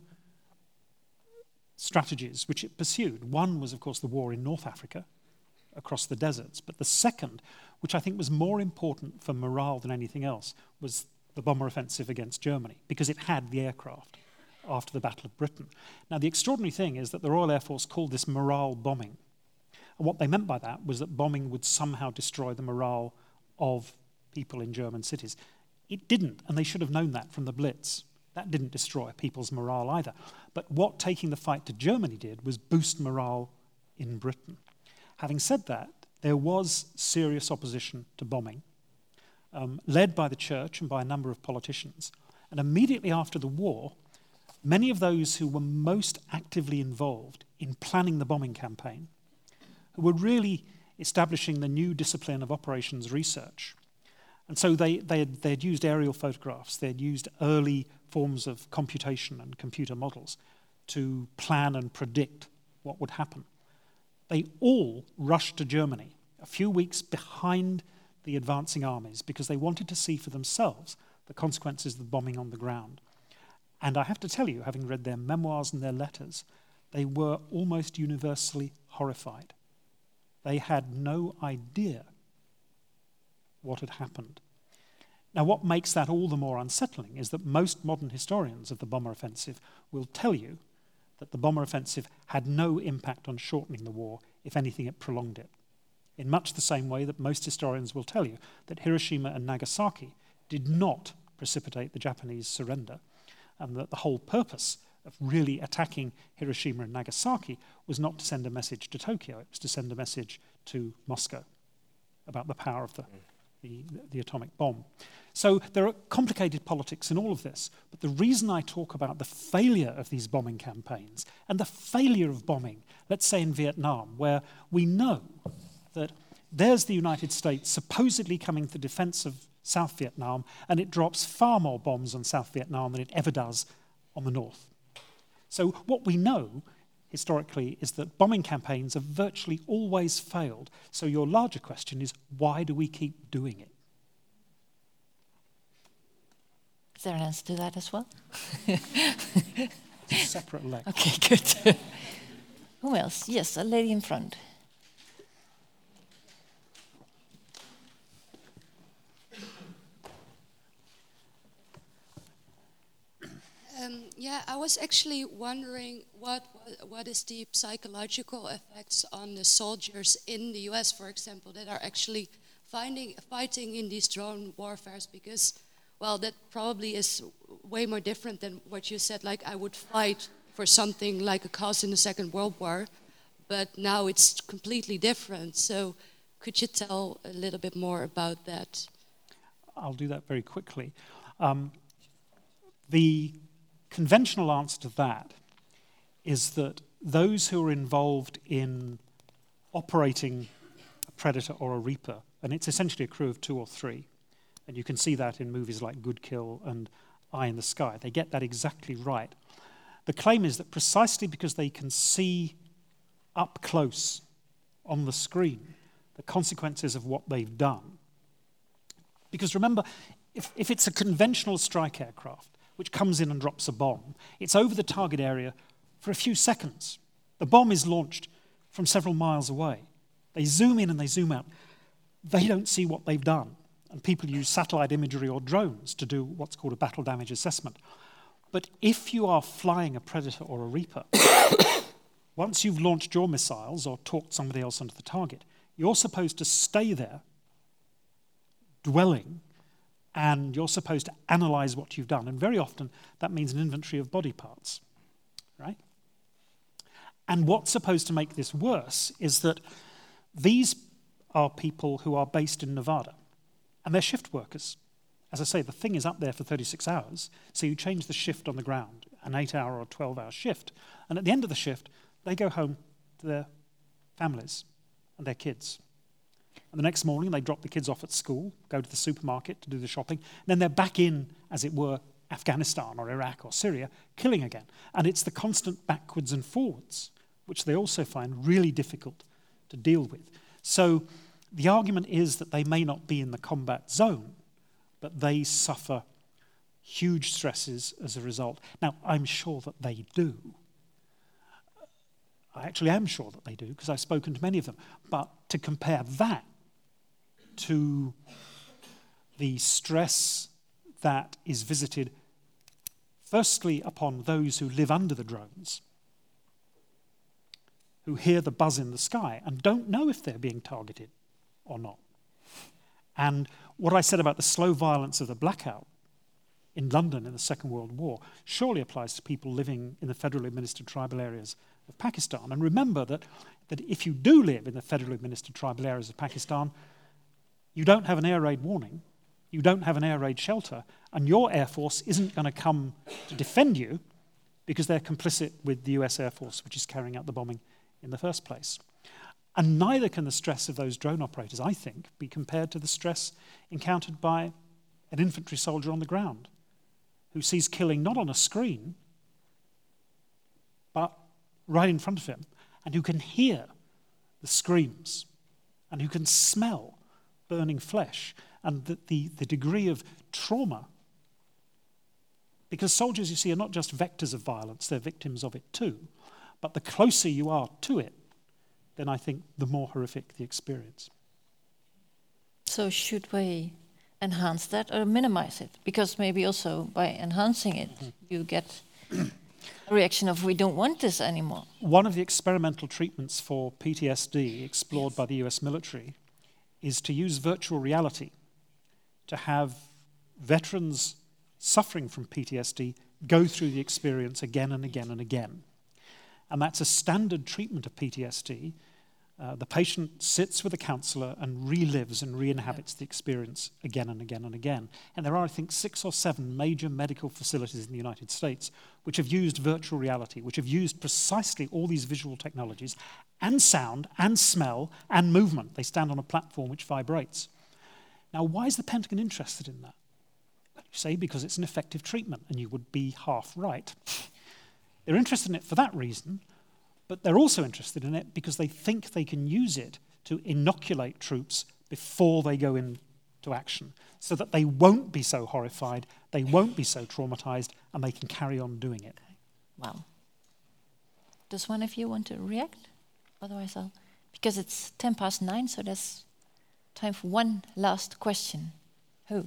strategies which it pursued. One was, of course, the war in North Africa, across the deserts, but the second, which I think was more important for morale than anything else, was the bomber offensive against Germany, because it had the aircraft after the Battle of Britain. Now, the extraordinary thing is that the Royal Air Force called this morale bombing. And what they meant by that was that bombing would somehow destroy the morale of people in German cities. It didn't, and they should have known that from the Blitz. That didn't destroy people's morale either. But what taking the fight to Germany did was boost morale in Britain. Having said that, there was serious opposition to bombing, um, led by the church and by a number of politicians. And immediately after the war, many of those who were most actively involved in planning the bombing campaign, who were really establishing the new discipline of operations research. And so they, they, had, they had used aerial photographs, they had used early forms of computation and computer models to plan and predict what would happen. They all rushed to Germany a few weeks behind the advancing armies because they wanted to see for themselves the consequences of the bombing on the ground. And I have to tell you, having read their memoirs and their letters, they were almost universally horrified. They had no idea what had happened. Now, what makes that all the more unsettling is that most modern historians of the bomber offensive will tell you that the bomber offensive had no impact on shortening the war. If anything, it prolonged it. In much the same way that most historians will tell you that Hiroshima and Nagasaki did not precipitate the Japanese surrender, and that the whole purpose of really attacking Hiroshima and Nagasaki was not to send a message to Tokyo, it was to send a message to Moscow about the power of the, the, the atomic bomb. So there are complicated politics in all of this, but the reason I talk about the failure of these bombing campaigns and the failure of bombing, let's say in Vietnam, where we know that there's the United States supposedly coming to the defense of South Vietnam, and it drops far more bombs on South Vietnam than it ever does on the North. So what we know historically is that bombing campaigns have virtually always failed. So your larger question is, why do we keep doing it? Is there an answer to that as well? It's a separate leg. Okay, good. Who else? Yes, a lady in front. Um, yeah, I was actually wondering what what is the psychological effects on the soldiers in the U S, for example, that are actually finding, fighting in these drone warfares, because, well, that probably is way more different than what you said, like I would fight for something like a cause in the Second World War, but now it's completely different. So could you tell a little bit more about that? I'll do that very quickly. Um, the conventional answer to that is that those who are involved in operating a predator or a reaper, and it's essentially a crew of two or three, and you can see that in movies like Good Kill and Eye in the Sky. They get that exactly right. The claim is that precisely because they can see up close on the screen the consequences of what they've done. Because remember, if, if it's a conventional strike aircraft which comes in and drops a bomb, it's over the target area for a few seconds. The bomb is launched from several miles away. They zoom in and they zoom out. They don't see what they've done. And people use satellite imagery or drones to do what's called a battle damage assessment. But if you are flying a Predator or a Reaper, once you've launched your missiles or talked somebody else onto the target, you're supposed to stay there, dwelling, and you're supposed to analyze what you've done. And very often, that means an inventory of body parts, right? And what's supposed to make this worse is that these are people who are based in Nevada, and they're shift workers. As I say, the thing is up there for thirty-six hours, so you change the shift on the ground, an eight-hour or twelve-hour shift, and at the end of the shift, they go home to their families and their kids. And the next morning, they drop the kids off at school, go to the supermarket to do the shopping, and then they're back in, as it were, Afghanistan or Iraq or Syria, killing again. And it's the constant backwards and forwards, which they also find really difficult to deal with. So the argument is that they may not be in the combat zone, but they suffer huge stresses as a result. Now, I'm sure that they do. I actually am sure that they do, because I've spoken to many of them. But to compare that to the stress that is visited, firstly, upon those who live under the drones, who hear the buzz in the sky and don't know if they're being targeted or not. And what I said about the slow violence of the blackout in London in the Second World War surely applies to people living in the federally administered tribal areas of Pakistan. And remember that, that if you do live in the federally administered tribal areas of Pakistan, you don't have an air raid warning, you don't have an air raid shelter, and your Air Force isn't going to come to defend you because they're complicit with the U S Air Force, which is carrying out the bombing in the first place. And neither can the stress of those drone operators, I think, be compared to the stress encountered by an infantry soldier on the ground who sees killing not on a screen, but right in front of him, and who can hear the screams, and who can smell burning flesh, and the, the, the degree of trauma. Because soldiers, you see, are not just vectors of violence, they're victims of it too. But the closer you are to it, then I think the more horrific the experience. So should we enhance that or minimize it? Because maybe also by enhancing it, mm-hmm. you get a reaction of we don't want this anymore. One of the experimental treatments for P T S D explored yes. by the U S military is to use virtual reality to have veterans suffering from P T S D go through the experience again and again and again. And that's a standard treatment of P T S D. Uh, the patient sits with a counsellor and relives and re-inhabits the experience again and again and again. And there are, I think, six or seven major medical facilities in the United States which have used virtual reality, which have used precisely all these visual technologies and sound and smell and movement. They stand on a platform which vibrates. Now, why is the Pentagon interested in that? Well, you say because it's an effective treatment, and you would be half right. They're interested in it for that reason, but they're also interested in it because they think they can use it to inoculate troops before they go into action, so that they won't be so horrified, they won't be so traumatized, and they can carry on doing it. Wow. Does one of you want to react? Otherwise I'll... Because it's ten past nine, so there's time for one last question. Who?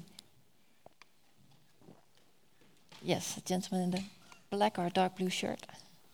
Yes, a gentleman in the black or dark blue shirt.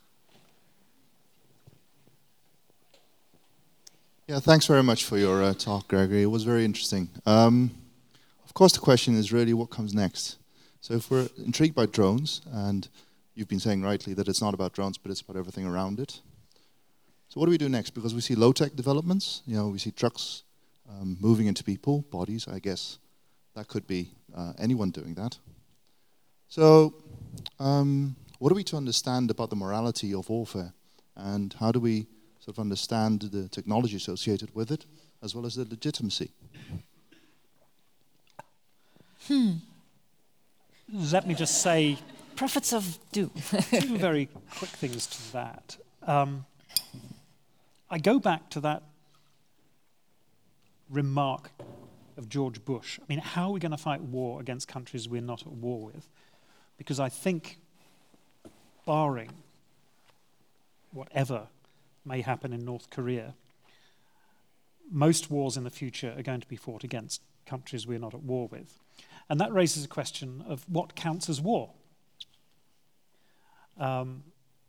Yeah, thanks very much for your uh, talk, Gregory. It was very interesting. Um, of course, the question is really what comes next. So if we're intrigued by drones, and you've been saying rightly that it's not about drones, but it's about everything around it. So what do we do next? Because we see low-tech developments. You know, we see trucks um, moving into people, bodies, I guess. that could be uh, anyone doing that. So, um, what are we to understand about the morality of warfare? And how do we sort of understand the technology associated with it, as well as the legitimacy? Hmm. Let me just say Prophets of doom. two very quick things to that. Um, I go back to that remark of George Bush. I mean, how are we going to fight war against countries we're not at war with? Because I think, barring whatever may happen in North Korea, most wars in the future are going to be fought against countries we're not at war with. And that raises a question of what counts as war. Um,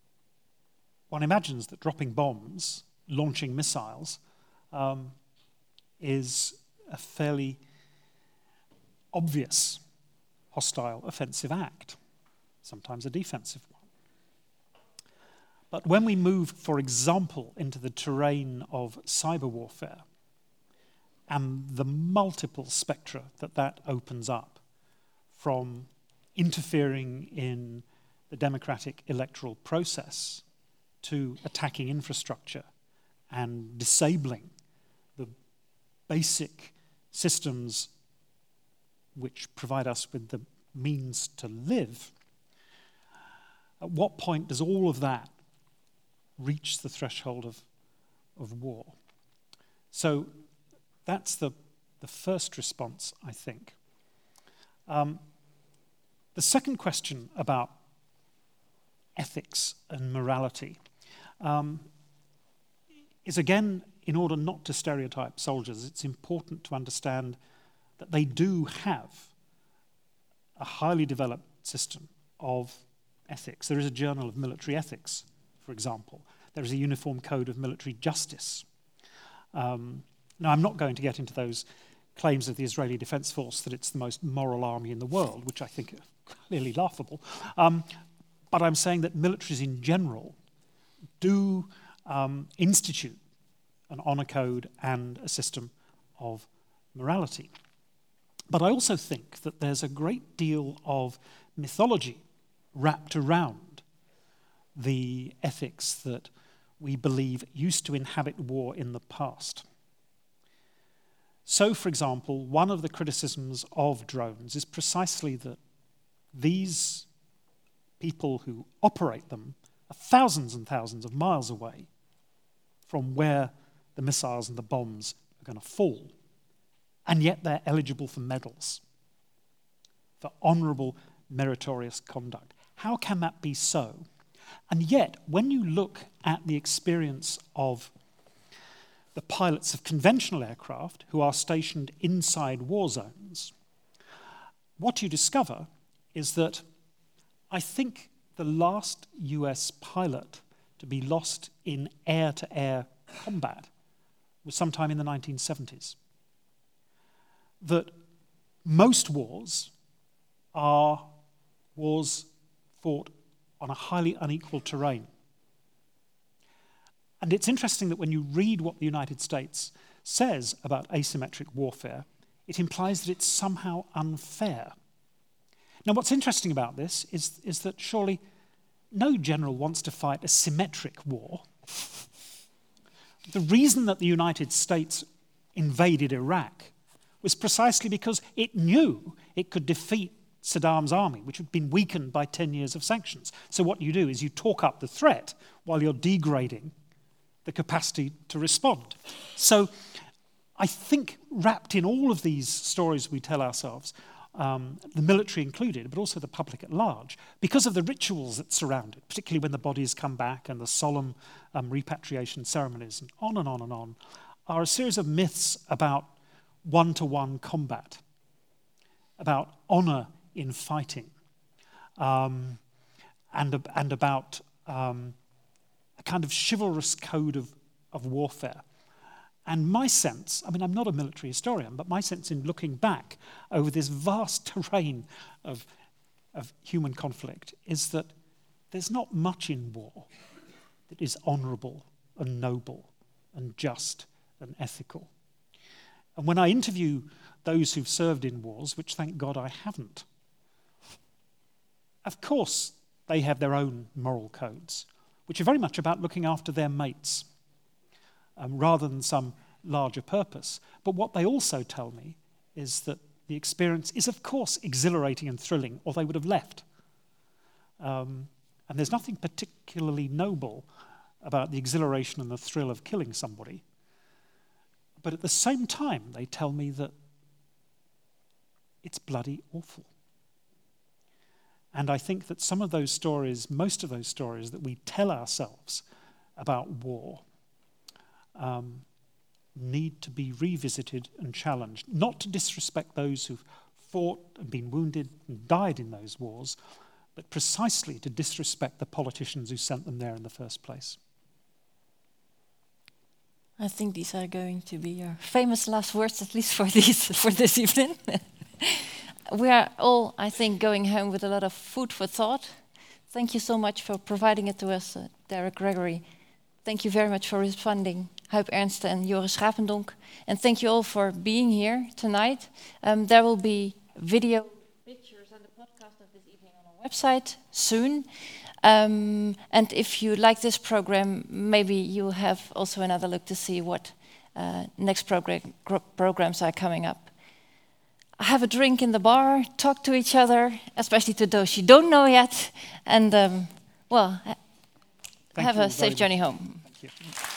one imagines that dropping bombs, launching missiles, um, is a fairly obvious hostile offensive act, sometimes a defensive one. But when we move, for example, into the terrain of cyber warfare and the multiple spectra that that opens up, from interfering in the democratic electoral process to attacking infrastructure and disabling the basic systems which provide us with the means to live, at what point does all of that reach the threshold of, of war? So that's the, the first response, I think. Um, the second question about ethics and morality um, is, again, in order not to stereotype soldiers, it's important to understand that they do have a highly developed system of ethics. There is a journal of military ethics, for example. There is a uniform code of military justice. Um, now, I'm not going to get into those claims of the Israeli Defense Force that it's the most moral army in the world, which I think are clearly laughable. Um, but I'm saying that militaries in general do um, institute an honor code and a system of morality. But I also think that there's a great deal of mythology wrapped around the ethics that we believe used to inhabit war in the past. So, for example, one of the criticisms of drones is precisely that these people who operate them are thousands and thousands of miles away from where the missiles and the bombs are going to fall. And yet they're eligible for medals, for honorable, meritorious conduct. How can that be so? And yet, when you look at the experience of the pilots of conventional aircraft who are stationed inside war zones, what you discover is that I think the last U S pilot to be lost in air-to-air combat was sometime in the nineteen seventies. That most wars are wars fought on a highly unequal terrain. And it's interesting that when you read what the United States says about asymmetric warfare, it implies that it's somehow unfair. Now, what's interesting about this is, is that surely no general wants to fight a symmetric war. The reason that the United States invaded Iraq was precisely because it knew it could defeat Saddam's army, which had been weakened by ten years of sanctions. So what you do is you talk up the threat while you're degrading the capacity to respond. So I think wrapped in all of these stories we tell ourselves, um, the military included, but also the public at large, because of the rituals that surround it, particularly when the bodies come back and the solemn um, repatriation ceremonies and on and on and on, are a series of myths about one-to-one combat, about honor in fighting, um, and, and about um, a kind of chivalrous code of, of warfare. And my sense, I mean, I'm not a military historian, but my sense in looking back over this vast terrain of, of human conflict is that there's not much in war that is honorable and noble and just and ethical. And when I interview those who've served in wars, which thank God I haven't. Of course, they have their own moral codes, which are very much about looking after their mates, um, rather than some larger purpose. But what they also tell me is that the experience is, of course, exhilarating and thrilling, or they would have left. Um, and there's nothing particularly noble about the exhilaration and the thrill of killing somebody. But at the same time, they tell me that it's bloody awful. And I think that some of those stories, most of those stories that we tell ourselves about war, um, need to be revisited and challenged. Not to disrespect those who've fought and been wounded and died in those wars, but precisely to disrespect the politicians who sent them there in the first place. I think these are going to be your famous last words, at least for this, for this evening. We are all, I think, going home with a lot of food for thought. Thank you so much for providing it to us, uh, Derek Gregory. Thank you very much for responding, Huip Ernste and Joris Schapendonk. And thank you all for being here tonight. Um, there will be video, pictures and the podcast of this evening on our website soon. Um, and if you like this program, maybe you'll have also another look to see what uh, next program, programs are coming up. Have a drink in the bar, talk to each other, especially to those you don't know yet, and um, well, ha- have a safe journey home. Thank you.